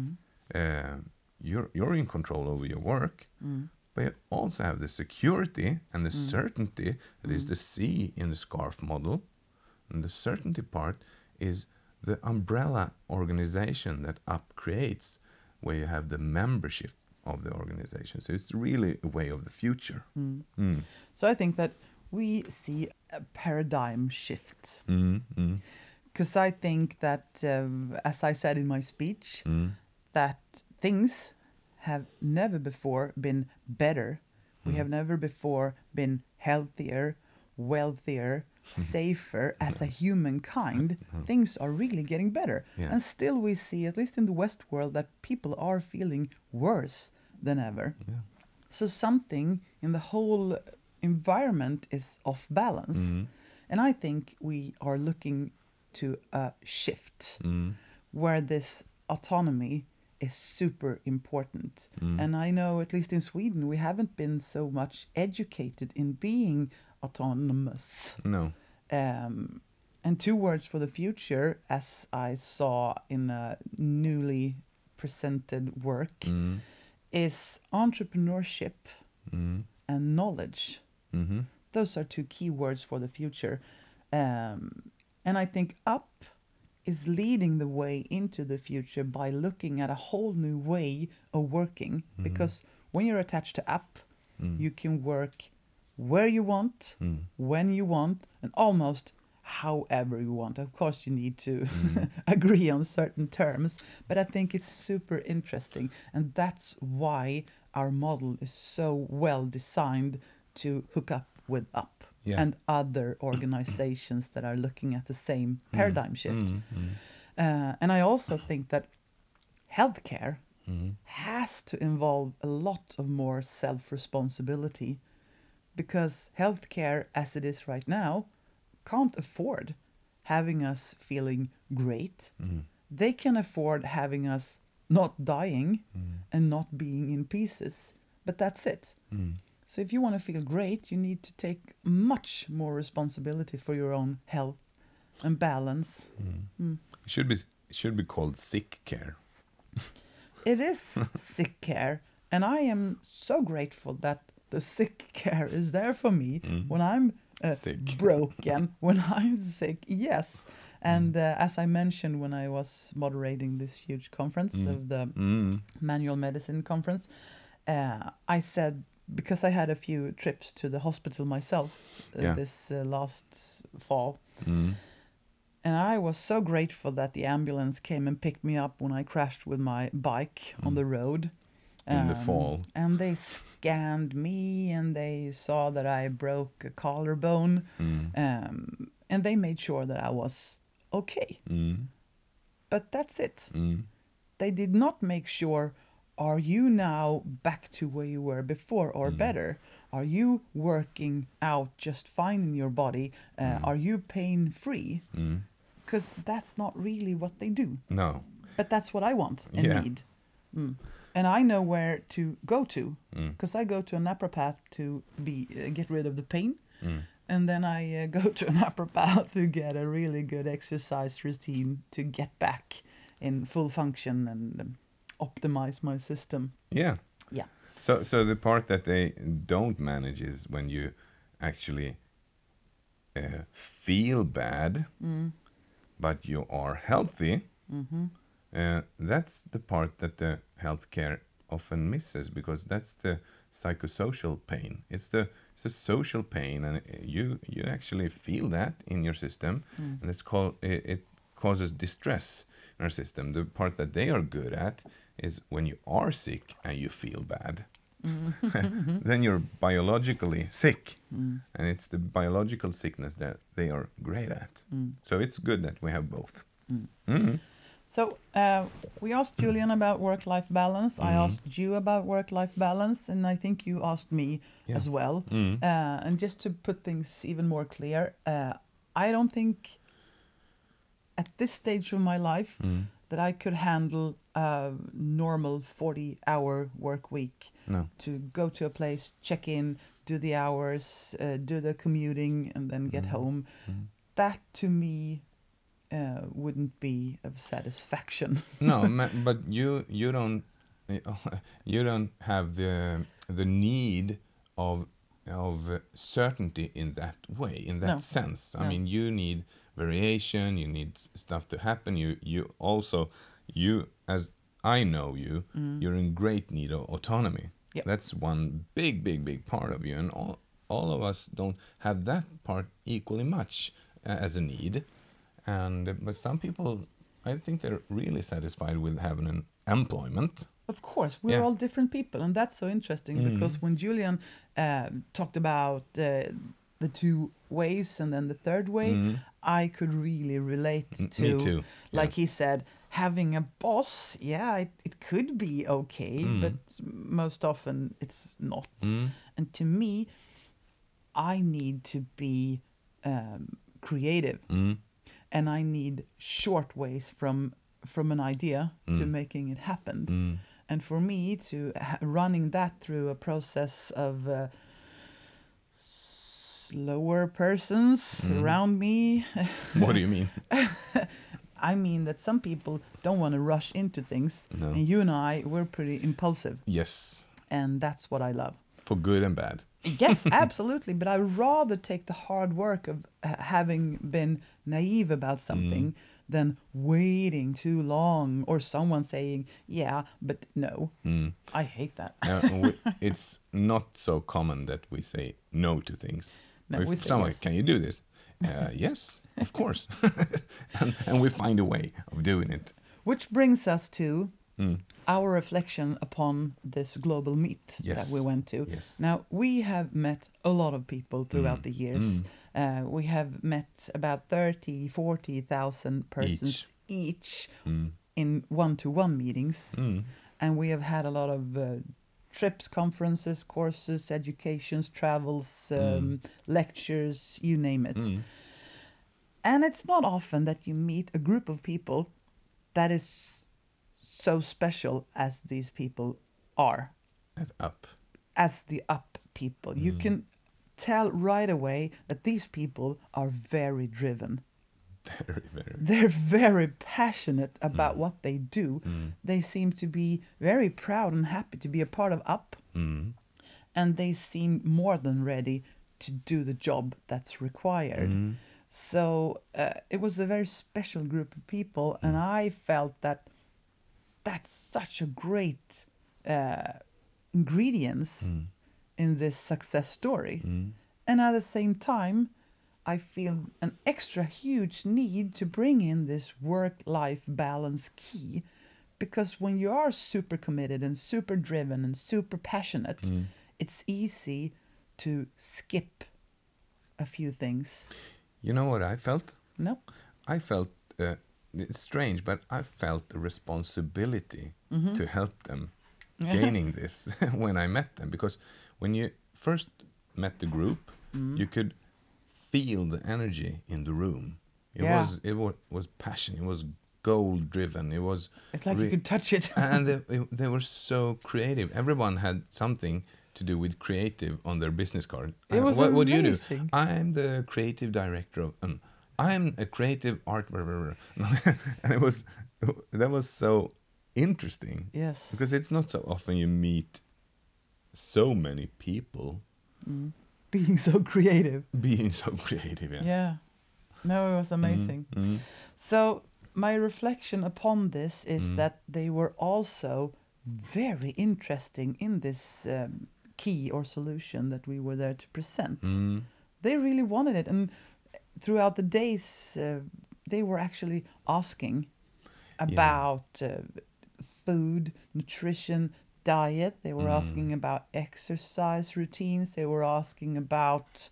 You're in control over your work. But you also have the security and the certainty that is the C in the SCARF model. And the certainty part is the umbrella organization that Up creates, where you have the membership of the organization. So it's really a way of the future. So I think that we see a paradigm shift. Because I think that, as I said in my speech, that things have never before been better. We have never before been healthier, wealthier, safer as a humankind. Things are really getting better. And still we see, at least in the West world, that people are feeling worse than ever. So something in the whole environment is off balance. And I think we are looking to a shift where this autonomy is super important. And I know, at least in Sweden, we haven't been so much educated in being autonomous. No. And 2 words for the future, as I saw in a newly presented work, is entrepreneurship and knowledge. Those are 2 key words for the future. And I think Up is leading the way into the future by looking at a whole new way of working. Because when you're attached to Up, you can work where you want, when you want, and almost however you want. Of course, you need to agree on certain terms, but I think it's super interesting. And that's why our model is so well designed to hook up with Up and other organizations that are looking at the same paradigm shift. And I also think that healthcare has to involve a lot of more self-responsibility, because healthcare, as it is right now, can't afford having us feeling great. They can afford having us not dying and not being in pieces, but that's it. So if you want to feel great, you need to take much more responsibility for your own health and balance. It should be called sick care. It is sick care, and I am so grateful that the sick care is there for me when I'm sick. broken, when I'm sick. Yes. And as I mentioned when I was moderating this huge conference of the Manual Medicine Conference, I said, because I had a few trips to the hospital myself this last fall, and I was so grateful that the ambulance came and picked me up when I crashed with my bike on the road. In the fall. And they scanned me, and they saw that I broke a collarbone, and they made sure that I was okay. But that's it. They did not make sure, are you now back to where you were before or better? Are you working out just fine in your body? Are you pain-free? Because that's not really what they do. No. But that's what I want and need. And I know where to go to, because I go to a napropath to get rid of the pain. And then I go to a napropath to get a really good exercise routine to get back in full function and optimize my system. Yeah. Yeah. So the part that they don't manage is when you actually feel bad, but you are healthy. That's the part that the healthcare often misses, because that's the psychosocial pain. It's a social pain, and you actually feel that in your system, and it causes distress in our system. The part that they are good at is when you are sick and you feel bad. Then you're biologically sick, and it's the biological sickness that they are great at. So it's good that we have both. So we asked Julian about work-life balance. I asked you about work-life balance, and I think you asked me as well. And just to put things even more clear, I don't think at this stage of my life that I could handle a normal 40-hour work week. No. To go to a place, check in, do the hours, do the commuting, and then get home. That to me wouldn't be of satisfaction. No, but you don't have the need of certainty in that way, in that sense. I mean, you need variation, you need stuff to happen. You also, as I know you, you're in great need of autonomy. Yep. That's one big part of you, and all of us don't have that part equally much as a need. But some people, I think they're really satisfied with having an employment. Of course, we're all different people, and that's so interesting because when Julian talked about the 2 ways and then the third way, I could really relate to. Me too. Like he said, having a boss, it could be okay, but most often it's not. And to me, I need to be creative. And I need short ways from from an idea to making it happen. And for me to running that through a process of slower persons around me. What do you mean? I mean that some people don't want to rush into things. No. And you and we're pretty impulsive. Yes. And that's what I love. For good and bad. Yes, absolutely. But I rather take the hard work of having been naive about something than waiting too long or someone saying, yeah, but no. I hate that. It's not so common that we say no to things. No, if we say someone, yes. can you do this? Yes, of course. and we find a way of doing it. Which brings us to our reflection upon this global meet that we went to. Yes. Now, we have met a lot of people throughout the years. We have met about 30, 40,000 persons each in one-to-one meetings. And we have had a lot of trips, conferences, courses, educations, travels, lectures, you name it. And it's not often that you meet a group of people that is so special as these people are. As the up people. You can tell right away that these people are very driven. Very, very. They're very passionate about what they do. They seem to be very proud and happy to be a part of UP. And they seem more than ready to do the job that's required. So it was a very special group of people, and I felt that that's such a great ingredients in this success story. And at the same time, I feel an extra huge need to bring in this work-life balance key, because when you are super committed and super driven and super passionate, it's easy to skip a few things. You know what I felt? No. I felt, it's strange, but I felt a responsibility to help them gaining this when I met them. Because when you first met the group, you could feel the energy in the room. It was passion. It was goal driven. It was. It's like you could touch it. And they were so creative. Everyone had something to do with creative on their business card. It was what do you do? amazing. I'm the creative director of. I'm a creative art. And that was so interesting. Yes. Because it's not so often you meet so many people. Being so creative. Being so creative, yeah. Yeah. No, it was amazing. So my reflection upon this is that they were also very interesting in this key or solution that we were there to present. They really wanted it. And throughout the days, they were actually asking about food, nutrition, diet. They were asking about exercise routines. They were asking about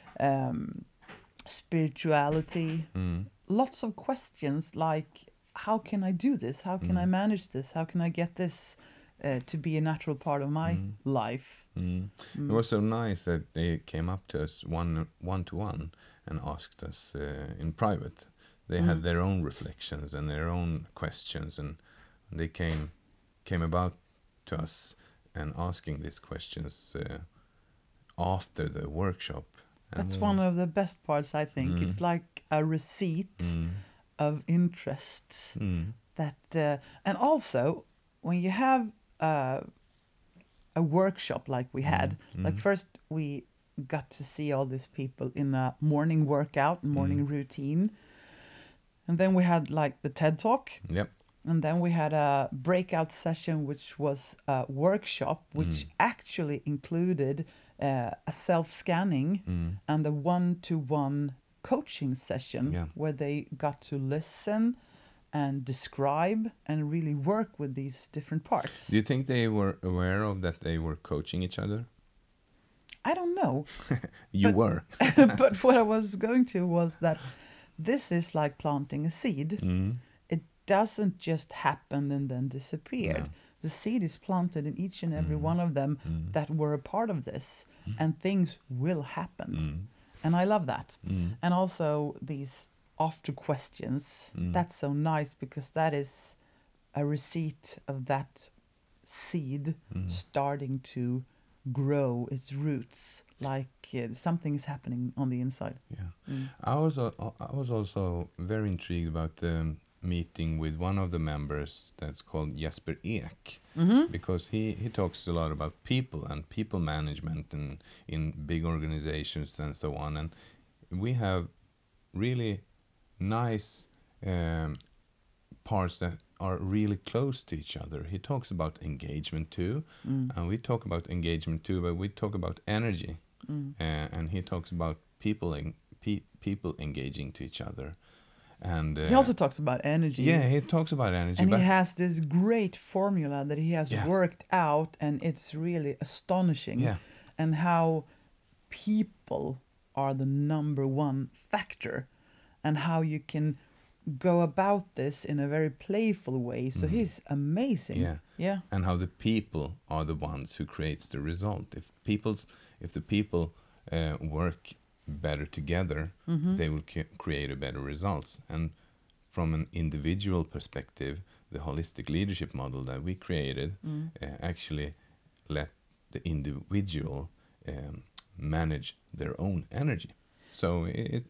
spirituality. Lots of questions like, how can I do this? How can I manage this? How can I get this to be a natural part of my life? It was so nice that they came up to us one-to-one and asked us in private. They had their own reflections and their own questions, and they came about to us and asking these questions after the workshop. That's one of the best parts, I think. It's like a receipt of interests that, and also when you have a workshop like we had, like first we got to see all these people in a morning workout, morning routine, and then we had like the TED Talk. Yep. And then we had a breakout session, which was a workshop, which actually included a self-scanning and a one-to-one coaching session where they got to listen and describe and really work with these different parts. Do you think they were aware of that they were coaching each other? I don't know. You were. But what I was going to was that this is like planting a seed. It doesn't just happen and then disappear. No. The seed is planted in each and every one of them that were a part of this, and things will happen. And I love that. And also these after questions. That's so nice because that is a receipt of that seed starting to grow its roots, like something is happening on the inside. Yeah. I was also very intrigued about the meeting with one of the members that's called Jesper Ek, because he talks a lot about people and people management and in big organizations and so on, and we have really nice parts that are really close to each other. He talks about engagement too, and we talk about engagement too, but we talk about energy, and he talks about people engaging to each other. And he also talks about energy. Yeah, he talks about energy. And he has this great formula that he has worked out, and it's really astonishing. Yeah. And how people are the number one factor, and how you can go about this in a very playful way. So he's amazing. Yeah. And how the people are the ones who creates the result. If the people work better together, they will create a better results. And from an individual perspective, the holistic leadership model that we created actually let the individual manage their own energy. So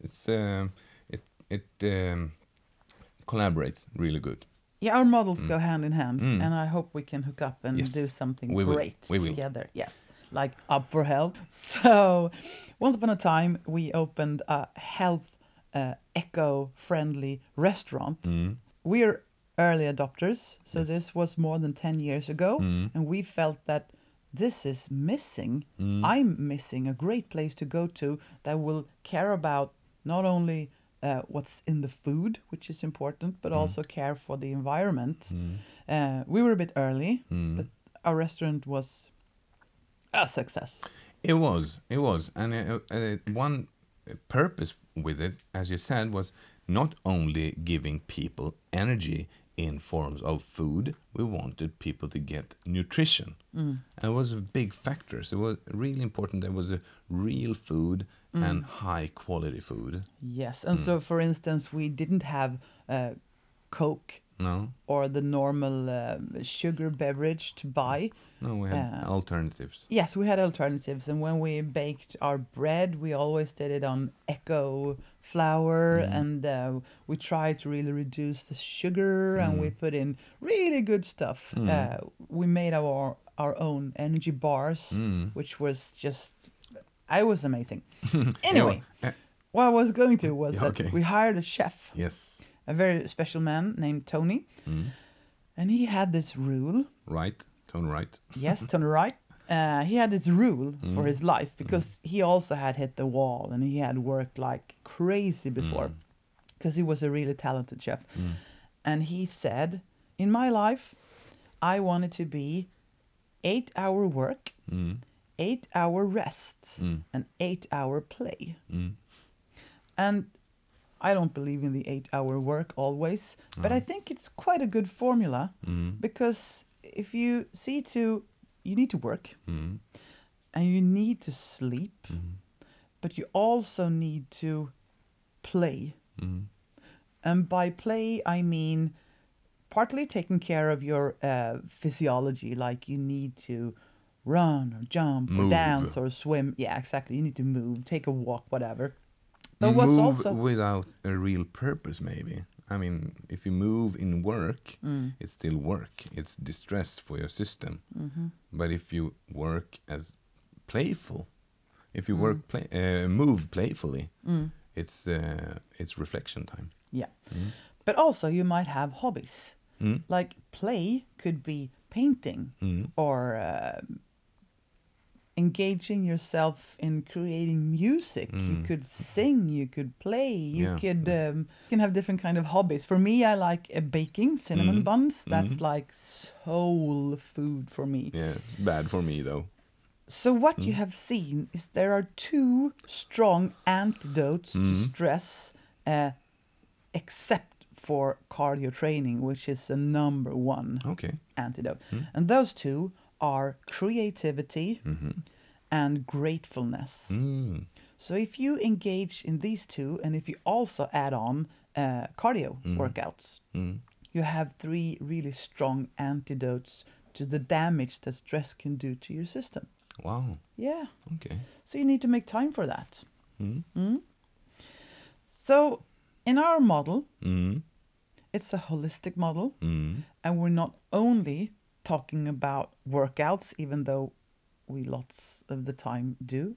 it collaborates really good. Yeah, our models go hand in hand, and I hope we can hook up and do something great together. Yes, like Up for Health. So, once upon a time, we opened a health, eco-friendly restaurant. We're early adopters, so this was more than 10 years ago, and we felt that this is missing. I'm missing a great place to go to that will care about not only what's in the food, which is important, but also care for the environment. We were a bit early, but our restaurant was a success. It was. And one purpose with it, as you said, was not only giving people energy in forms of food, we wanted people to get nutrition. And it was a big factor. So it was really important there was a real food and high quality food. Yes, and so for instance, we didn't have Coke or the normal sugar beverage to buy. No, we had alternatives. Yes, we had alternatives, and when we baked our bread, we always did it on eco flour, and we tried to really reduce the sugar, and we put in really good stuff. We made our own energy bars, which was just, I was amazing. Anyway, what I was going to was that we hired a chef. Yes. A very special man named Tony. And he had this rule. Tony Wright. Yes, Tony Wright. He had this rule for his life because he also had hit the wall and he had worked like crazy before because he was a really talented chef. And he said, in my life, I wanted to be 8-hour work, 8-hour rest, and 8-hour play. And I don't believe in the 8-hour work always, but I think it's quite a good formula because if you see to, you need to work and you need to sleep, but you also need to play. And by play, I mean partly taking care of your physiology, like you need to run or jump or dance or swim. Yeah, exactly. You need to move, take a walk, whatever. But move also without a real purpose, maybe. I mean, if you move in work, it's still work. It's distress for your system. But if you work as playful, if you move playfully, it's reflection time. Yeah. But also you might have hobbies. Like play could be painting or engaging yourself in creating music. You could sing, you could play, you can have different kind of hobbies. For me, I like baking cinnamon buns. That's like soul food for me. Yeah, bad for me though. So what you have seen is there are 2 strong antidotes to stress, except for cardio training, which is the number 1 antidote. And those 2 are creativity and gratefulness. So if you engage in these two, and if you also add on cardio workouts, you have 3 really strong antidotes to the damage that stress can do to your system. Wow. Yeah. Okay. So you need to make time for that. So in our model, it's a holistic model, and we're not only talking about workouts, even though we lots of the time do.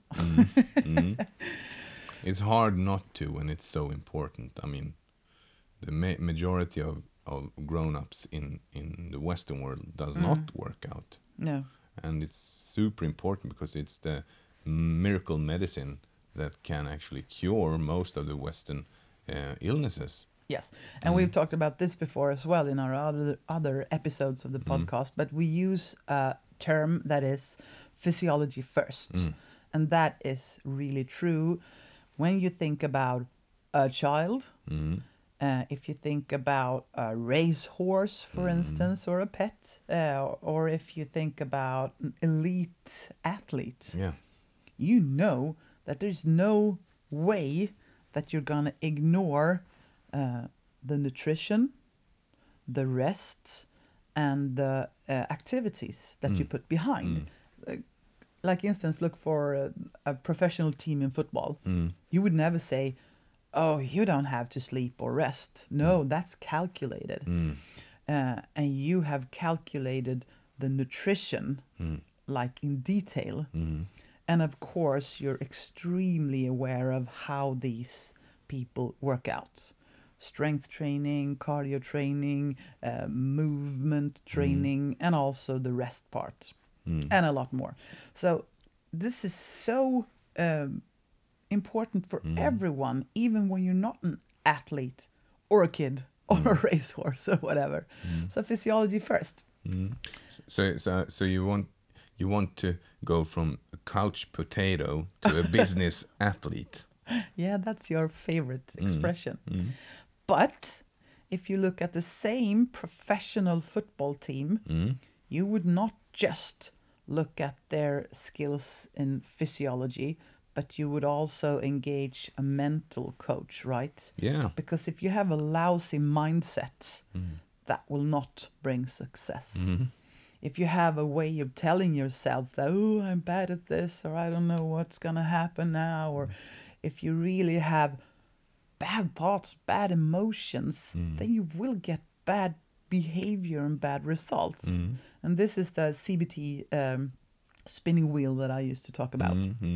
It's hard not to when it's so important. I mean, the majority of grown-ups in the Western world does not work out. No. And it's super important because it's the miracle medicine that can actually cure most of the Western illnesses. Yes, and we've talked about this before as well in our other episodes of the podcast, but we use a term that is physiology first. And that is really true when you think about a child, if you think about a racehorse, for instance, or a pet, or if you think about an elite athlete, you know that there's no way that you're going to ignore the nutrition, the rest, and the activities that you put behind. Like, instance, look for a professional team in football. You would never say, oh, you don't have to sleep or rest. No, that's calculated. And you have calculated the nutrition, like in detail. And of course, you're extremely aware of how these people work out. Strength training, cardio training, movement training, and also the rest part, and a lot more. So this is so important for everyone, even when you're not an athlete or a kid or a racehorse or whatever. So physiology first. So you want to go from a couch potato to a business athlete. Yeah, that's your favorite expression. But if you look at the same professional football team, you would not just look at their skills in physiology, but you would also engage a mental coach, right? Yeah. Because if you have a lousy mindset, that will not bring success. If you have a way of telling yourself that, oh, I'm bad at this, or I don't know what's going to happen now, or if you really have bad thoughts, bad emotions, then you will get bad behavior and bad results. And this is the CBT spinning wheel that I used to talk about.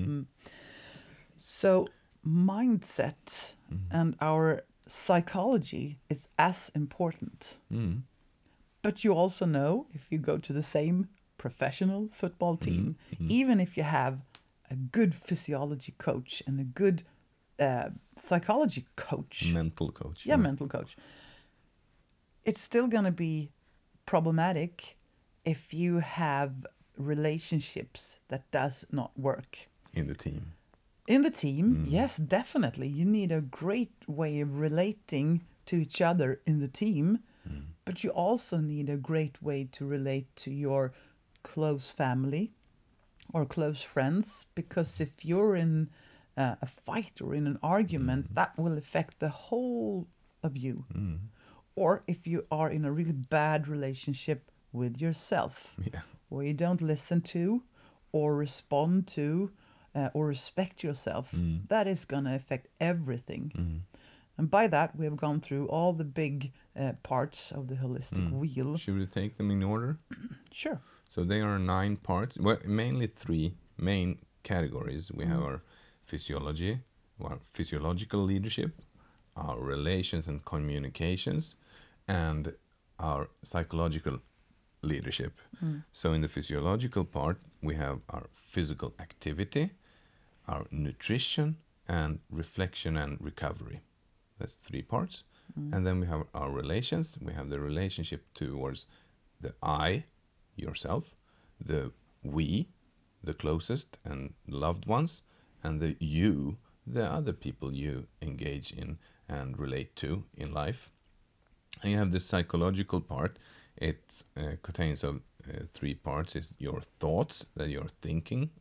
So mindset and our psychology is as important. But you also know, if you go to the same professional football team, even if you have a good physiology coach and a good psychology coach. Mental coach. Yeah, mental coach. It's still going to be problematic if you have relationships that does not work. In the team. In the team, yes, definitely. You need a great way of relating to each other in the team, but you also need a great way to relate to your close family or close friends, because if you're in a fight or in an argument, that will affect the whole of you. Or if you are in a really bad relationship with yourself, where you don't listen to or respond to or respect yourself, that is going to affect everything. And by that, we have gone through all the big parts of the holistic wheel. Should we take them in order? Sure. So there are 9 parts, well, mainly 3 main categories. We have our physiology, our physiological leadership, our relations and communications, and our psychological leadership. So in the physiological part, we have our physical activity, our nutrition, and reflection and recovery. That's 3 parts. And then we have our relations. We have the relationship towards the I, yourself, the we, the closest and loved ones, and the you, the other people you engage in and relate to in life. And you have the psychological part. It contains of 3 parts. It's your thoughts that you're thinking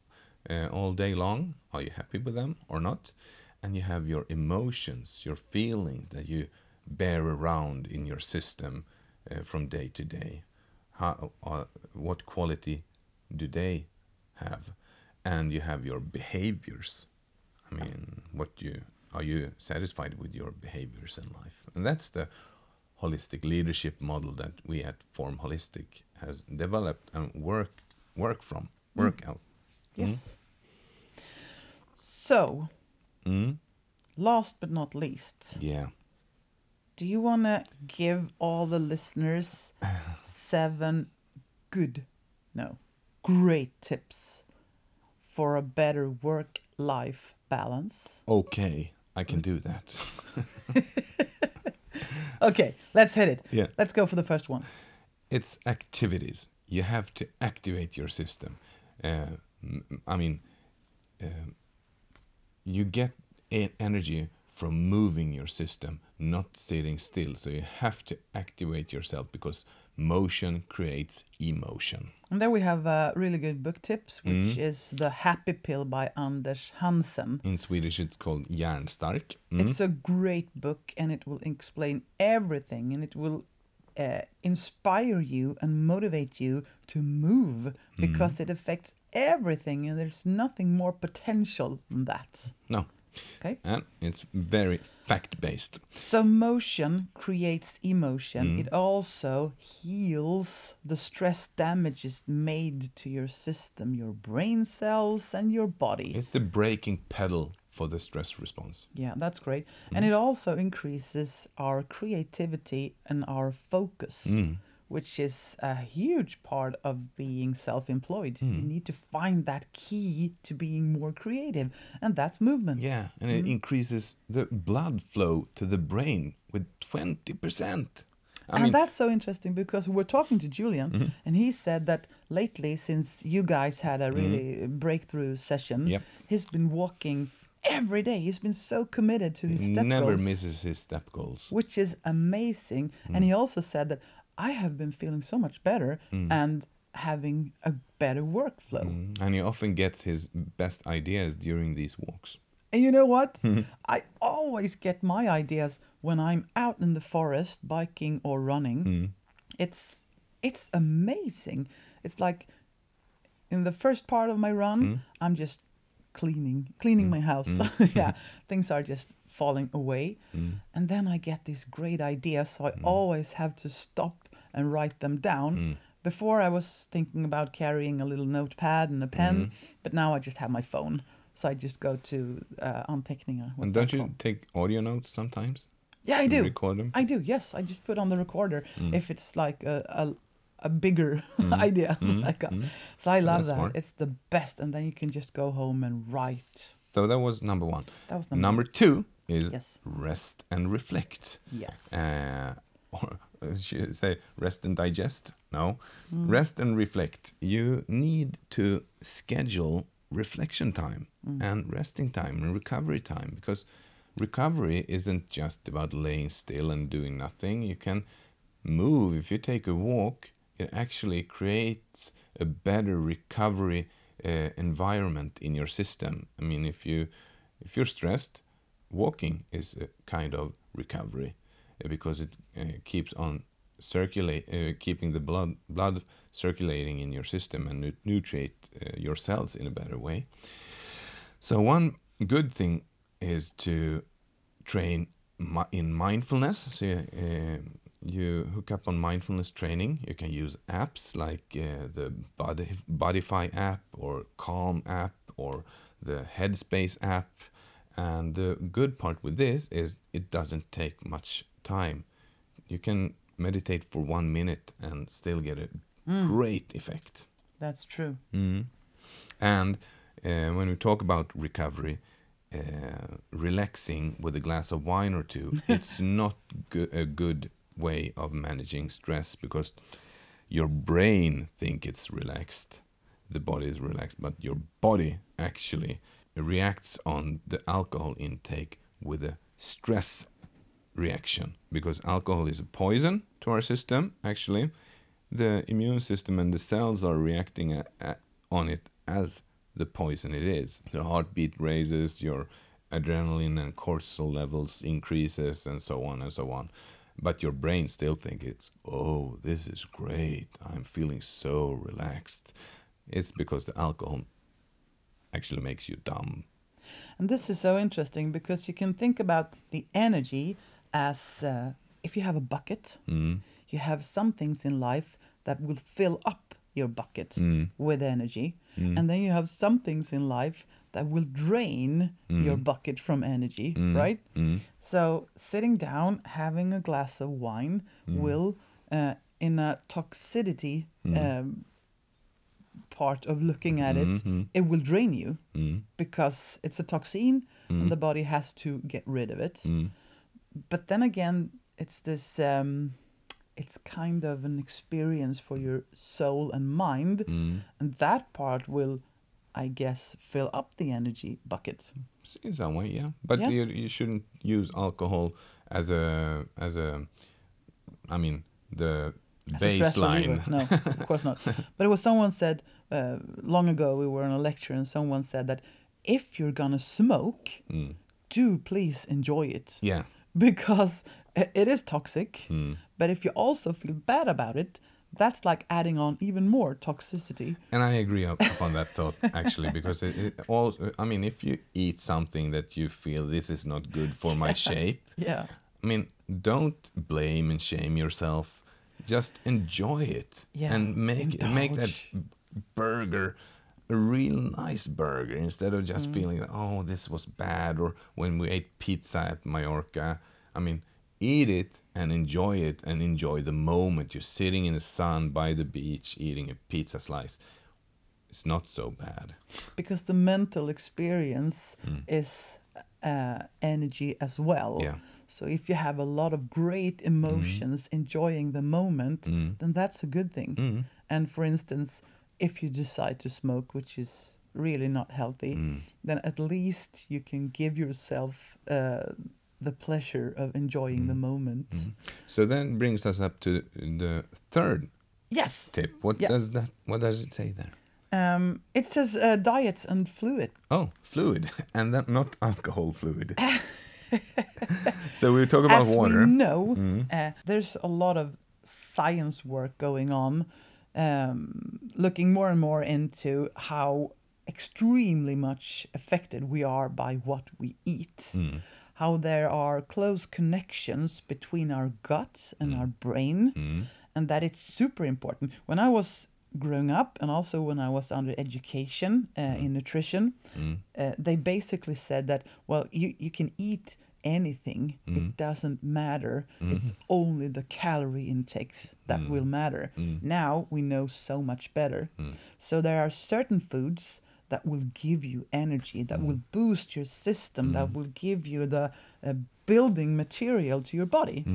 all day long. Are you happy with them or not? And you have your emotions, your feelings that you bear around in your system from day to day. What quality do they have? And you have your behaviors. I mean, are you satisfied with your behaviors in life? And that's the holistic leadership model that we at Form Holistic has developed and work out. Yes. So, last but not least, do you want to give all the listeners 7 great tips for a better work-life balance? Okay, I can do that. Okay, let's hit it. Yeah. Let's go for the first one. It's activities. You have to activate your system. You get energy from moving your system, not sitting still. So you have to activate yourself because motion creates emotion. And there we have really good book tips, which is The Happy Pill by Anders Hansen. In Swedish, it's called Hjärnstark. It's a great book, and it will explain everything, and it will inspire you and motivate you to move because it affects everything, and there's nothing more potential than that. No. Okay. And it's very fact-based. So motion creates emotion. It also heals the stress damages made to your system, your brain cells and your body. It's the braking pedal for the stress response. Yeah, that's great. And it also increases our creativity and our focus, which is a huge part of being self-employed. You need to find that key to being more creative, and that's movement. Yeah, and it increases the blood flow to the brain with 20%. I mean, that's so interesting because we're talking to Julian, and he said that lately, since you guys had a really breakthrough session, he's been walking every day. He's been so committed to his step goals. Never misses his step goals. Which is amazing. And he also said that I have been feeling so much better and having a better workflow. And he often gets his best ideas during these walks. And you know what? I always get my ideas when I'm out in the forest biking or running. It's amazing. It's like in the first part of my run, I'm just cleaning my house. Things are just falling away. And then I get these great ideas, so I always have to stop and write them down. Before I was thinking about carrying a little notepad and a pen, but now I just have my phone. So I just go to Anteckningar. And don't you take audio notes sometimes? Yeah, I do. Record them? I do, yes. I just put on the recorder if it's like a bigger idea. So I love that. Smart. It's the best. And then you can just go home and write. So that was number 1. That was number 2 is rest and reflect. Yes. Or should I say rest and digest? No. Rest and reflect. You need to schedule reflection time and resting time and recovery time, because recovery isn't just about laying still and doing nothing. You can move. If you take a walk, it actually creates a better recovery environment in your system. I mean, if you're stressed, walking is a kind of recovery because it keeps on keeping the blood circulating in your system and nutrient your cells in a better way. So one good thing is to train in mindfulness. So you hook up on mindfulness training. You can use apps like the Bodify app or Calm app or the Headspace app. And the good part with this is it doesn't take much time. You can meditate for 1 minute and still get a great effect. That's true. And when we talk about recovery, relaxing with a glass of wine or two, it's not a good way of managing stress, because your brain think it's relaxed, the body is relaxed, but your body actually reacts on the alcohol intake with a stress reaction, because alcohol is a poison to our system. Actually, the immune system and the cells are reacting on it as the poison it is. The heartbeat raises, your adrenaline and cortisol levels increases, and so on and so on. But your brain still thinks oh, this is great. I'm feeling so relaxed. It's because the alcohol actually makes you dumb. And this is so interesting because you can think about the energy as if you have a bucket, you have some things in life that will fill up your bucket with energy. And then you have some things in life that will drain your bucket from energy, right? So sitting down, having a glass of wine will, in a toxicity part of looking at it, it will drain you because it's a toxin and the body has to get rid of it. But then again, it's this, it's kind of an experience for your soul and mind, and that part will, I guess, fill up the energy bucket. In some way, yeah. But you shouldn't use alcohol as a I mean, the as baseline. No, of course not. But it was someone said, long ago we were on a lecture and someone said that if you're gonna smoke, do please enjoy it. Yeah. Because it is toxic, but if you also feel bad about it, that's like adding on even more toxicity. And I agree upon that thought, actually, because it also, I mean, if you eat something that you feel this is not good for my shape, I mean, don't blame and shame yourself. Just enjoy it and make that burger a real nice burger instead of just feeling that, oh, this was bad. Or when we ate pizza at Mallorca, I mean, eat it and enjoy the moment. You're sitting in the sun by the beach eating a pizza slice. It's not so bad. Because the mental experience is energy as well. Yeah. So if you have a lot of great emotions enjoying the moment, then that's a good thing. And for instance, if you decide to smoke, which is really not healthy, then at least you can give yourself the pleasure of enjoying the moment. So that brings us up to the third tip. What does it say there? It says diet and fluid. Oh, fluid. And that not alcohol fluid. So we talk about water. As we know, there's a lot of science work going on, looking more and more into how extremely much affected we are by what we eat. How there are close connections between our gut and our brain, and that it's super important. When I was growing up, and also when I was under education in nutrition, they basically said that, well, you can eat anything, it doesn't matter, it's only the calorie intakes that will matter. Now we know so much better. So there are certain foods that will give you energy, that will boost your system, that will give you the building material to your body.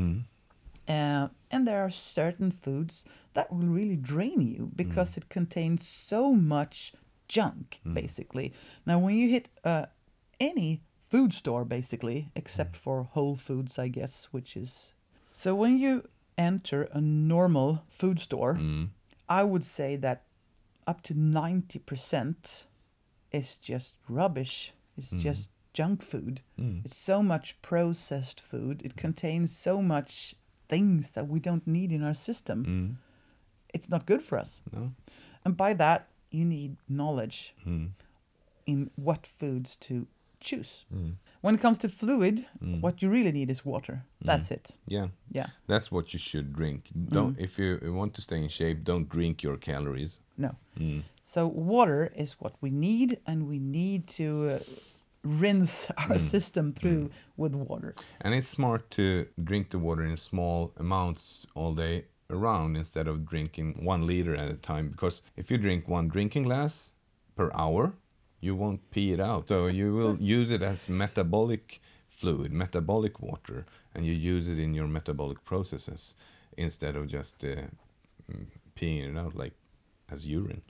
And there are certain foods that will really drain you because it contains so much junk, basically. Now, when you hit any food store, basically, except for Whole Foods, I guess, which is... So when you enter a normal food store, I would say that up to 90% is just rubbish. It's just junk food. It's so much processed food. It contains so much things that we don't need in our system. It's not good for us. No. And by that, you need knowledge in what foods to choose. When it comes to fluid, what you really need is water. That's it. Yeah. That's what you should drink. Don't if you want to stay in shape, don't drink your calories. No. So water is what we need, and we need to rinse our system through with water. And it's smart to drink the water in small amounts all day around instead of drinking 1 liter at a time, because if you drink 1 drinking glass per hour, you won't pee it out. So you will use it as metabolic fluid, metabolic water, and you use it in your metabolic processes instead of just peeing it out like as urine.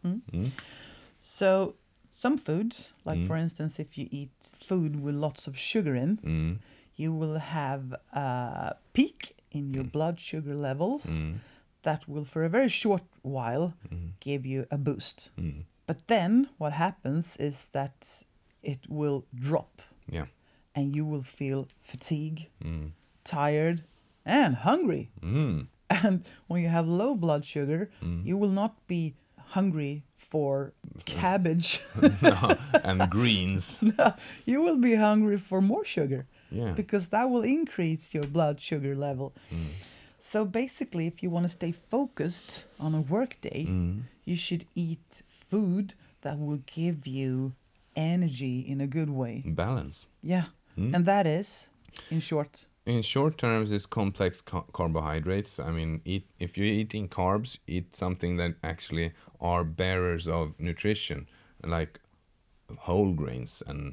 So some foods, like for instance, if you eat food with lots of sugar in, you will have a peak in your blood sugar levels that will, for a very short while, give you a boost. But then what happens is that it will drop. Yeah. And you will feel fatigue, tired, and hungry. And when you have low blood sugar, you will not be hungry for cabbage. No, and greens. No, you will be hungry for more sugar. Yeah. Because that will increase your blood sugar level. So basically, if you want to stay focused on a work day, you should eat food that will give you energy in a good way. Balance. Yeah. And that is, in short. In short terms, it's complex carbohydrates. I mean, if you're eating carbs, eat something that actually are bearers of nutrition, like whole grains and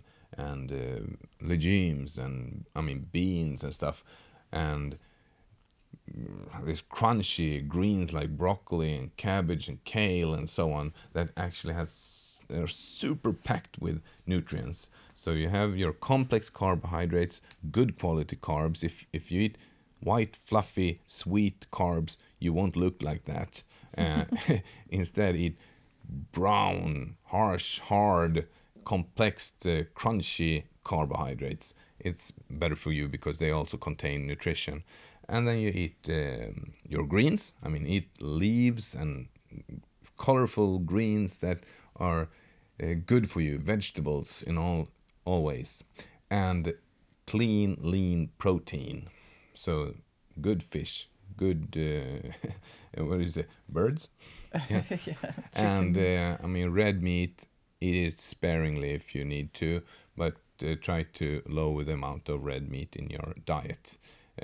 legumes and beans and stuff, and this crunchy greens like broccoli and cabbage and kale and so on that actually they're super packed with nutrients. So you have your complex carbohydrates, good quality carbs. If you eat white, fluffy, sweet carbs, you won't look like that. Instead, eat brown, harsh, hard, complex, crunchy carbohydrates. It's better for you because they also contain nutrition. And then you eat your greens. I mean, eat leaves and colorful greens that are good for you, vegetables in all ways. And clean, lean protein. So good fish, good, what is it, birds? Yeah. And red meat, eat it sparingly if you need to, but try to lower the amount of red meat in your diet.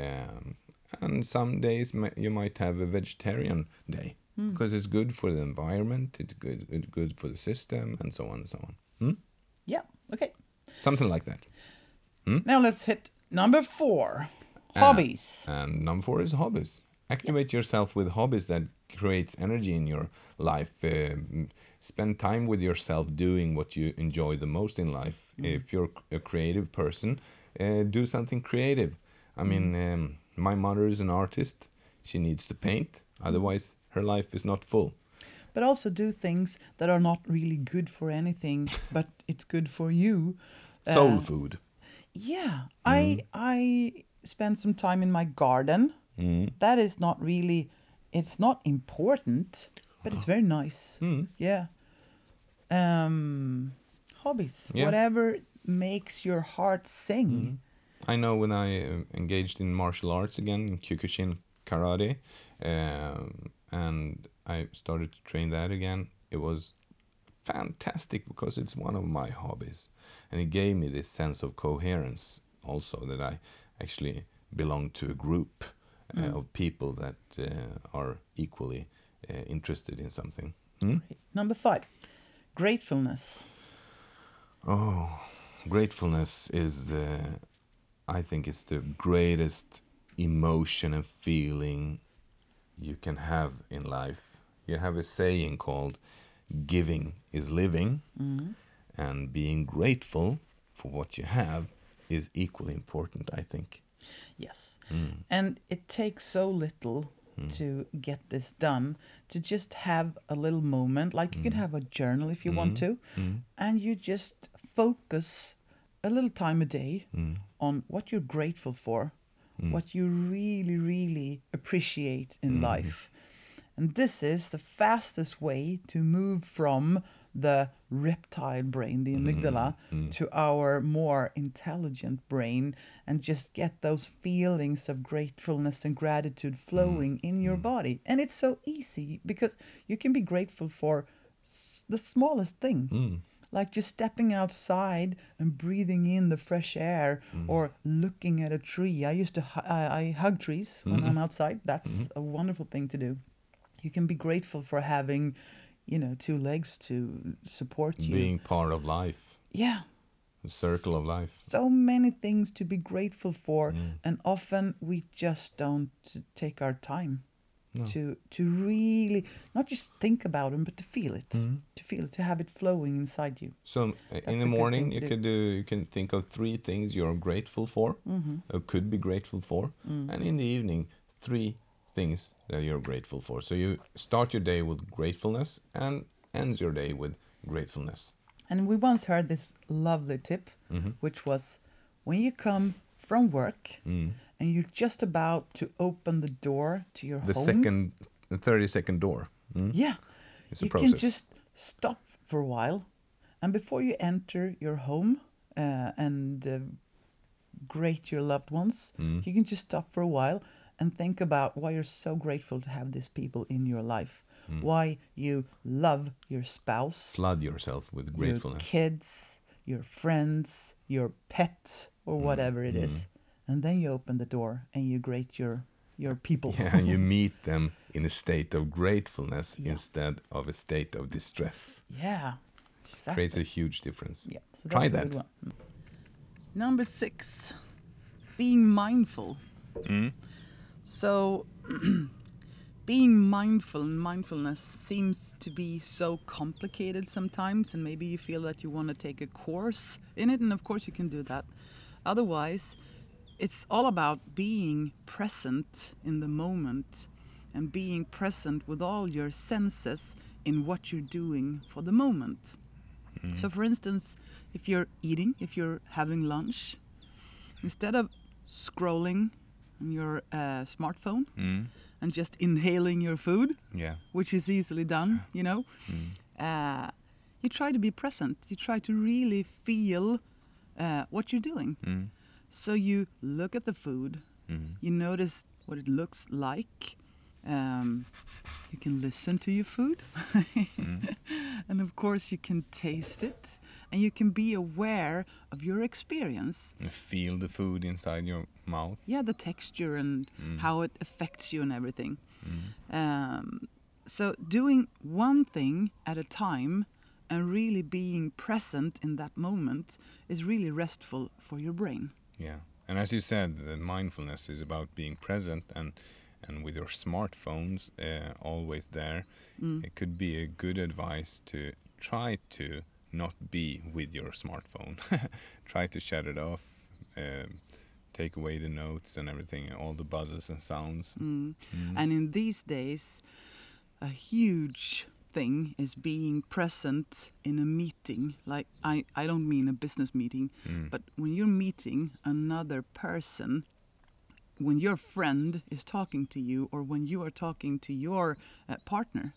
And some days you might have a vegetarian day because it's good for the environment, it's good for the system, and so on and so on. Yeah, okay. Something like that. Now let's hit number 4, hobbies. And number 4 is hobbies. Activate yourself with hobbies that creates energy in your life. Spend time with yourself doing what you enjoy the most in life. If you're a creative person, do something creative. I mean, my mother is an artist. She needs to paint. Otherwise, her life is not full. But also do things that are not really good for anything, but it's good for you. Soul food. Yeah. I spend some time in my garden. That is not really, it's not important, but it's very nice. Yeah. Hobbies. Yeah. Whatever makes your heart sing. I know when I engaged in martial arts again, in Kyokushin karate, and I started to train that again, it was fantastic because it's one of my hobbies. And it gave me this sense of coherence also, that I actually belong to a group of people that are equally interested in something. Number 5, gratefulness. Oh, gratefulness is... I think it's the greatest emotion and feeling you can have in life. You have a saying called giving is living, and being grateful for what you have is equally important, I think. Yes. And it takes so little to get this done, to just have a little moment, like you can have a journal if you want to, and you just focus a little time a day on what you're grateful for, what you really, really appreciate in life. And this is the fastest way to move from the reptile brain, the amygdala, to our more intelligent brain, and just get those feelings of gratefulness and gratitude flowing in your body. And it's so easy because you can be grateful for the smallest thing. Like just stepping outside and breathing in the fresh air, or looking at a tree. I hug trees when I'm outside. That's a wonderful thing to do. You can be grateful for having, 2 legs to support you. Being part of life. Yeah. The circle of life. So many things to be grateful for, and often we just don't take our time. No. To really not just think about them, but to feel it, to have it flowing inside you. So in the morning, you can think of 3 things you're grateful for, or could be grateful for, and in the evening, 3 things that you're grateful for. So you start your day with gratefulness and ends your day with gratefulness. And we once heard this lovely tip, which was when you come from work and you're just about to open the door to your home. The 30-second door. Yeah. It's a you process. can just stop for a while. And before you enter your home and greet your loved ones, you can just stop for a while and think about why you're so grateful to have these people in your life. Why you love your spouse. Flood yourself with gratefulness. Your kids, your friends, your pet, or whatever it is. And then you open the door and you greet your people. Yeah, and you meet them in a state of gratefulness instead of a state of distress. Yeah, exactly. Creates a huge difference. Yeah, so Try that's a that. good one. Number 6, being mindful. So, being mindful and mindfulness seems to be so complicated sometimes, and maybe you feel that you want to take a course in it, and of course you can do that. Otherwise, it's all about being present in the moment and being present with all your senses in what you're doing for the moment. So for instance, if you're eating, if you're having lunch, instead of scrolling on your smartphone and just inhaling your food, which is easily done, you know, you try to be present. You try to really feel what you're doing. So you look at the food, you notice what it looks like, you can listen to your food, and of course you can taste it, and you can be aware of your experience. And feel the food inside your mouth. Yeah, the texture and how it affects you and everything. So doing one thing at a time and really being present in that moment is really restful for your brain. Yeah, and as you said, the mindfulness is about being present, and with your smartphones always there, it could be a good advice to try to not be with your smartphone. Try to shut it off, take away the notes and everything, all the buzzes and sounds. And in these days, a huge thing is being present in a meeting. Like, I don't mean a business meeting, but when you're meeting another person, when your friend is talking to you or when you are talking to your partner,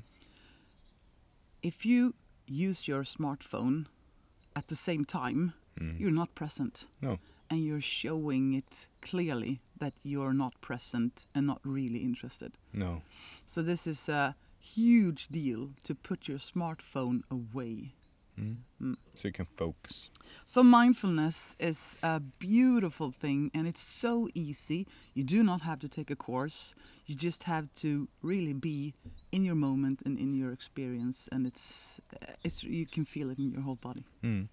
if you use your smartphone at the same time, you're not present. No. And you're showing it clearly that you're not present and not really interested. No. So this is a huge deal to put your smartphone away. So you can focus. So mindfulness is a beautiful thing, and it's so easy. You do not have to take a course. You just have to really be in your moment and in your experience, and it's you can feel it in your whole body.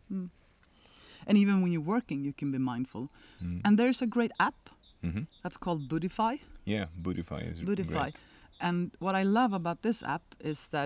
And even when you're working, you can be mindful. And there's a great app that's called Budify. Yeah, Budify is Budify. great. And what I love about this app is that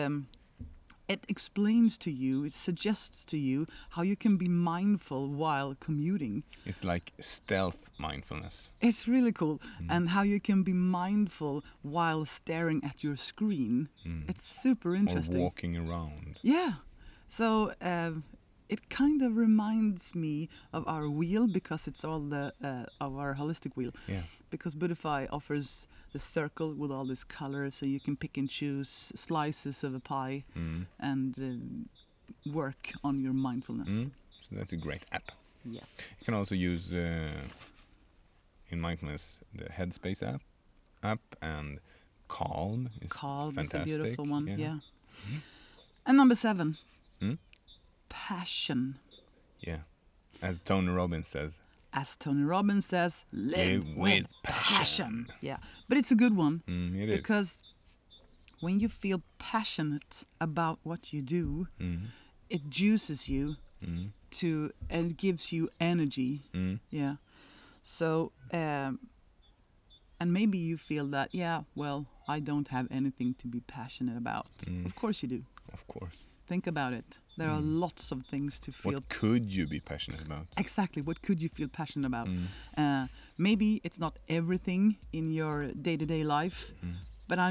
it explains to you, it suggests to you how you can be mindful while commuting. It's like stealth mindfulness. It's really cool. And how you can be mindful while staring at your screen. It's super interesting. Or walking around. Yeah. So it kind of reminds me of our wheel, because it's all of our holistic wheel. Yeah. Because Budify offers the circle with all this color, so you can pick and choose slices of a pie and work on your mindfulness. So that's a great app. Yes. You can also use in mindfulness the Headspace app and Calm is fantastic. Is a beautiful one. Yeah. And number 7, passion. Yeah, as Tony Robbins says. As Tony Robbins says, live with passion. Yeah, but it's a good one. It is. Because when you feel passionate about what you do, it juices you and it gives you energy. Yeah. So, and maybe you feel that, well, I don't have anything to be passionate about. Of course you do. Of course. Think about it. There are lots of things to feel. What could you be passionate about? Exactly. What could you feel passionate about? Maybe it's not everything in your day-to-day life, but I'm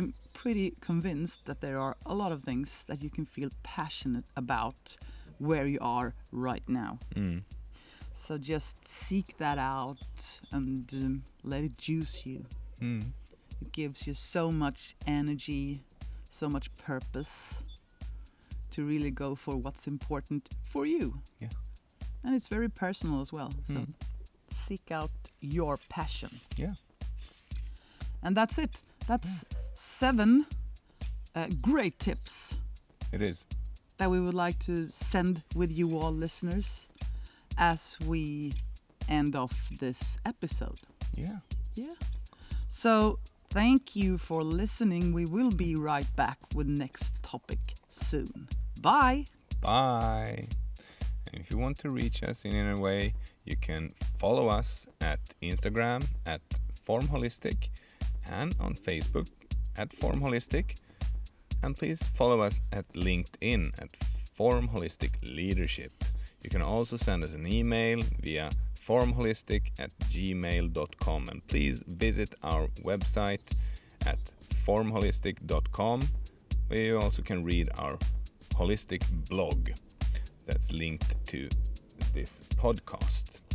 pretty convinced that there are a lot of things that you can feel passionate about where you are right now. So just seek that out and let it juice you. It gives you so much energy, so much purpose to really go for what's important for you. Yeah. And it's very personal as well. So seek out your passion. Yeah. And that's it. That's 7 great tips. It is. That we would like to send with you all listeners as we end off this episode. Yeah. Yeah. So thank you for listening. We will be right back with next topic soon. Bye. Bye. And if you want to reach us in any way, you can follow us at Instagram at FormHolistic and on Facebook at FormHolistic. And please follow us at LinkedIn at FormHolistic Leadership. You can also send us an email via formholistic@gmail.com, and please visit our website at formholistic.com, where you also can read our holistic blog that's linked to this podcast.